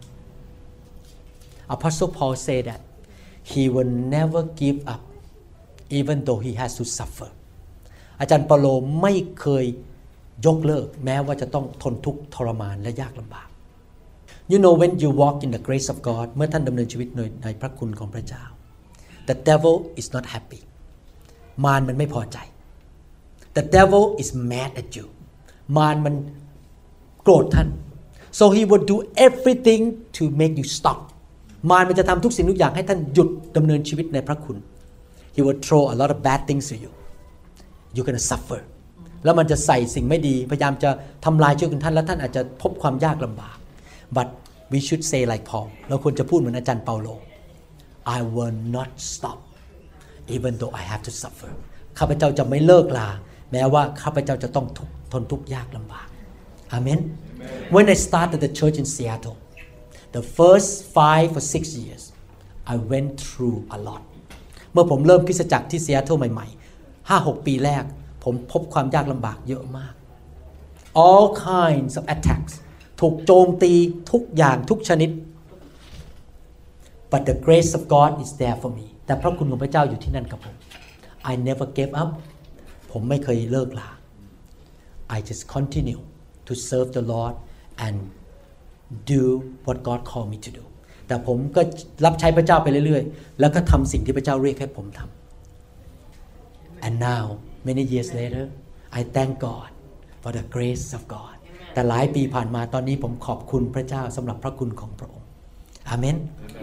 Speaker 2: Apostle Paul said that he will never give up even though he has to suffer อาจารย์เปาโลไม่เคยยกเลิกแม้ว่าจะต้องทนทุกข์ทรมานและยากลำบาก You know when you walk in the grace of God เมื่อท่านดำเนินชีวิตในพระคุณของพระเจ้า The devil is not happy มารมันไม่พอใจ The devil is mad at you มารมันโกรธท่าน So he will do everything to make you stop มารมันจะทำทุกสิ่งทุกอย่างให้ท่านหยุดดำเนินชีวิตในพระคุณ He will throw a lot of bad things to you You're gonna suffer แล้วมันจะใส่สิ่งไม่ดีพยายามจะทำลายชีวิตของท่านและท่านอาจจะพบความยากลำบาก But we should say like Paul เราควรจะพูดเหมือนอาจารย์เปาโล I will not stop even though I have to suffer ข้าพเจ้าจะไม่เลิกลาแม้ว่าข้าพเจ้าจะต้องทนทุกข์ยากลำบาก Amen When I started the church in Seattle the first five or six years I went through a lot เมื่อผมเริ่มคริสตจักรที่ซีแอตเทิลใหม่ๆ ห้าหก ปีแรกผมพบความยากลำบากเยอะมาก all kinds of attacks ถูกโจมตีทุกอย่างทุกชนิด but the grace of God is there for me แต่พระคุณของพระเจ้าอยู่ที่นั่นกับผม I never gave up ผมไม่เคยเลิกลา I just continue to serve the Lord and do what God called me to do แต่ผมก็รับใช้พระเจ้าไปเรื่อยๆแล้วก็ทำสิ่งที่พระเจ้าเรียกให้ผมทำ and now many years later I thank God for the grace of God แต่หลายปีผ่านมาตอนนี้ผมขอบคุณพระเจ้าสำหรับพระคุณของพระองค์อาเมน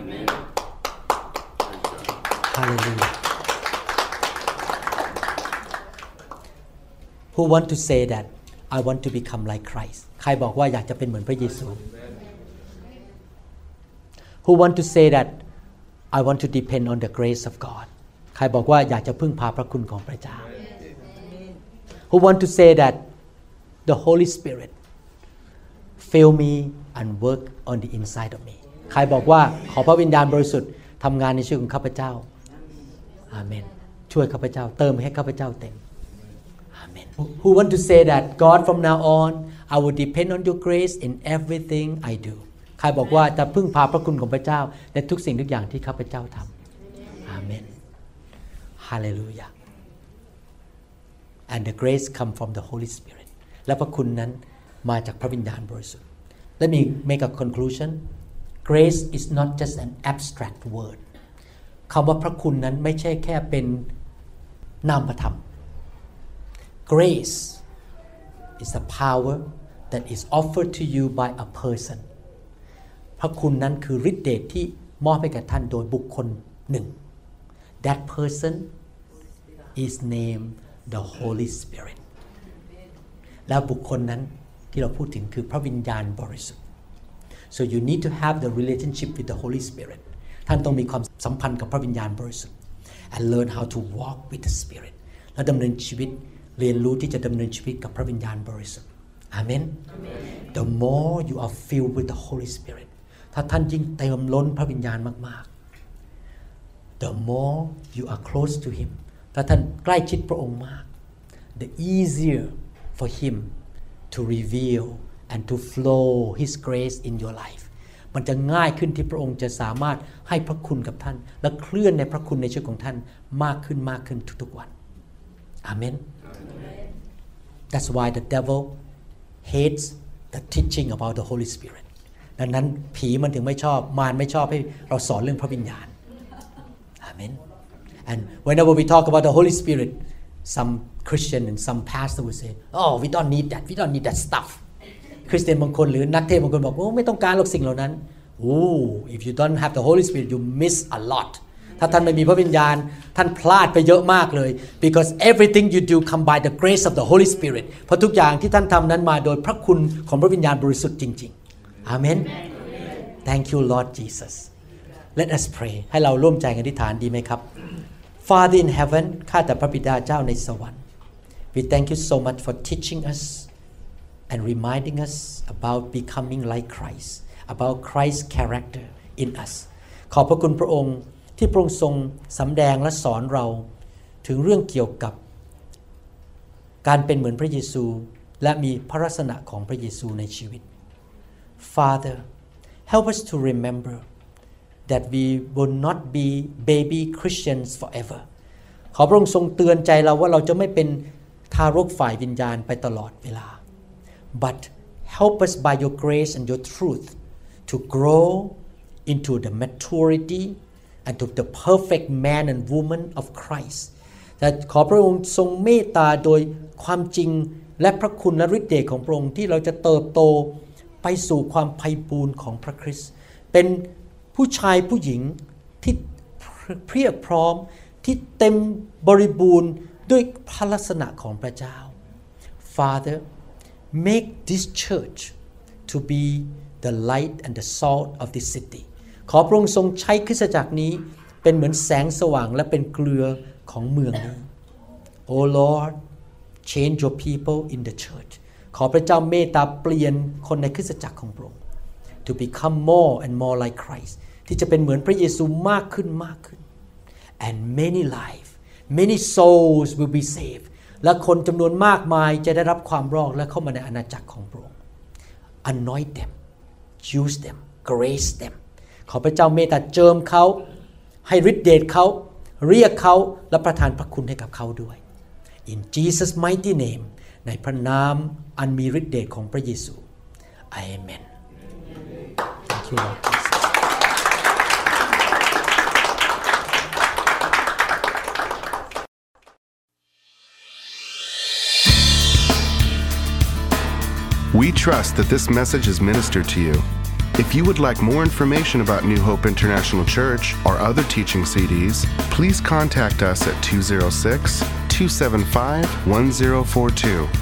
Speaker 2: Hallelujah Who want to say that I want to become like Christ ใครบอกว่าอยากจะเป็นเหมือนพระเยซู Who want to say that I want to depend on the grace of God ใครบอกว่าอยากจะพึ่งพาพระคุณของพระเจ้า Who want to say that the Holy Spirit fill me and work on the inside of me ใครบอกว่าขอพระวิญญาณบริสุทธิ์ทำงานในชีวิตของข้าพเจ้าอาเมนช่วยข้าพเจ้าเติมให้ข้าพเจ้าเต็มอาเมน Who want to say that God from now on I will depend on your grace in everything I do ใครบอกว่าจะพึ่งพาพระคุณของพระเจ้าในทุกสิ่งทุกอย่างที่ข้าพเจ้าทำอาเมน Hallelujah and the grace come from the Holy Spirit และพระคุณนั้นมาจากพระวิญญาณบริสุทธิ์ Let me make a conclusion Grace is not just an abstract word คำว่าพระคุณนั้นไม่ใช่แค่เป็นนามธรรม Grace is a power that is offered to you by a person พระคุณนั้นคือฤทธิ์เดชที่มอบให้แก่ท่านโดยบุคคลหนึ่ง That person is named the Holy Spirit แล้วบุคคลนั้นที่เราพูดถึงคือพระวิญญาณบริสุทธิ์ so you need to have the relationship with the Holy Spirit ท่านต้องมีความสัมพันธ์กับพระวิญญาณบริสุทธิ์ and learn how to walk with the Spirit และดำเนินชีวิตเรียนรู้ที่จะดำเนินชีวิตกับพระวิญญาณบริสุทธิ์ Amen the more you are filled with the Holy Spirit ถ้าท่านยิ่งเติมล้นพระวิญญาณมากๆ the more you are close to Him ถ้าท่านใกล้ชิดพระองค์มาก the easier for Him to reveal and to flow His grace in your life มันจะง่ายขึ้นที่พระองค์จะสามารถให้พระคุณกับท่านและเคลื่อนในพระคุณในชีวิตของท่านมากขึ้นมากขึ้นทุกๆวัน Amen That's why the devil hates the teaching about the Holy Spirit ดังนั้นผีมันถึงไม่ชอบมารไม่ชอบให้เราสอนเรื่องพระวิญญาณ Amen and whenever we talk about the Holy Spirit some Christian and some pastor will say oh we don't need that we don't need that stuff คริสเตียนบางคนหรือนักเทศน์บางคนบอกโอ้ไม่ต้องการหรอกสิ่งเหล่านั้น oh if you don't have the Holy Spirit you miss a lot ถ้าท่านไม่มีพระวิญญาณท่านพลาดไปเยอะมากเลย because everything you do come by the grace of the Holy Spirit เพราะทุกอย่างที่ท่านทำนั้นมาโดยพระคุณของพระวิญญาณบริสุทธิ์จริงๆอาเมน Thank you Lord Jesus Let us pray ให้เราร่วมใจกันอธิษฐานดีไหมครับ Father in heaven ข้าแต่พระบิดาเจ้าในสวรรค์ We thank you so much for teaching us and reminding us about becoming like Christ about Christ's character in us ขอบพระคุณพระองค์ที่พระองค์ทรงสำแดงและสอนเราถึงเรื่องเกี่ยวกับการเป็นเหมือนพระเยซูและมีพระลักษณะของพระเยซูในชีวิต Father help us to remember that we will not be baby Christians forever ขอพระองค์ทรงเตือนใจเราว่าเราจะไม่เป็นทารกฝ่ายวิญญาณไปตลอดเวลา but help us by your grace and your truth to grow into the maturity and to the perfect man and woman of Christ แต่ขอพระองค์ทรงเมตตาโดยความจริงและพระคุณและฤทธิ์เดชของพระองค์ที่เราจะเติบโตไปสู่ความไพบูลย์ของพระคริสต์เป็นผู้ชายผู้หญิงที่เพียบพร้อมที่เต็มบริบูรณ์ด้วยพระลักษณะของพระเจ้า Father make this church to be the light and the salt of this city ขอพระองค์ทรงใช้คริสตจักรนี้เป็นเหมือนแสงสว่างและเป็นเกลือของเมืองนี้ Oh Lord change your people in the church ขอพระเจ้าเมตตาเปลี่ยนคนในคริสตจักรของพระองค์ to become more and more like Christ ที่จะเป็นเหมือนพระเยซูมากขึ้นมากขึ้น and many lives many souls will be saved และคนจำนวนมากมายจะได้รับความรอดและเข้ามาในอาณาจักรของพระองค์ anoint them use them grace them ขอพระเจ้าเมตตาเจิมเขาให้ฤทธิ์เดชเขาเรียกเขาและประทานพระคุณให้กับเขาด้วย in Jesus mighty name ในพระนามอันมีฤทธิ์เดชของพระเยซู Amen Thank you Lord Jesus
Speaker 1: We trust that this message is ministered to you. If you would like more information about New Hope International Church or other teaching C Ds, please contact us at two oh six, two seven five, one oh four two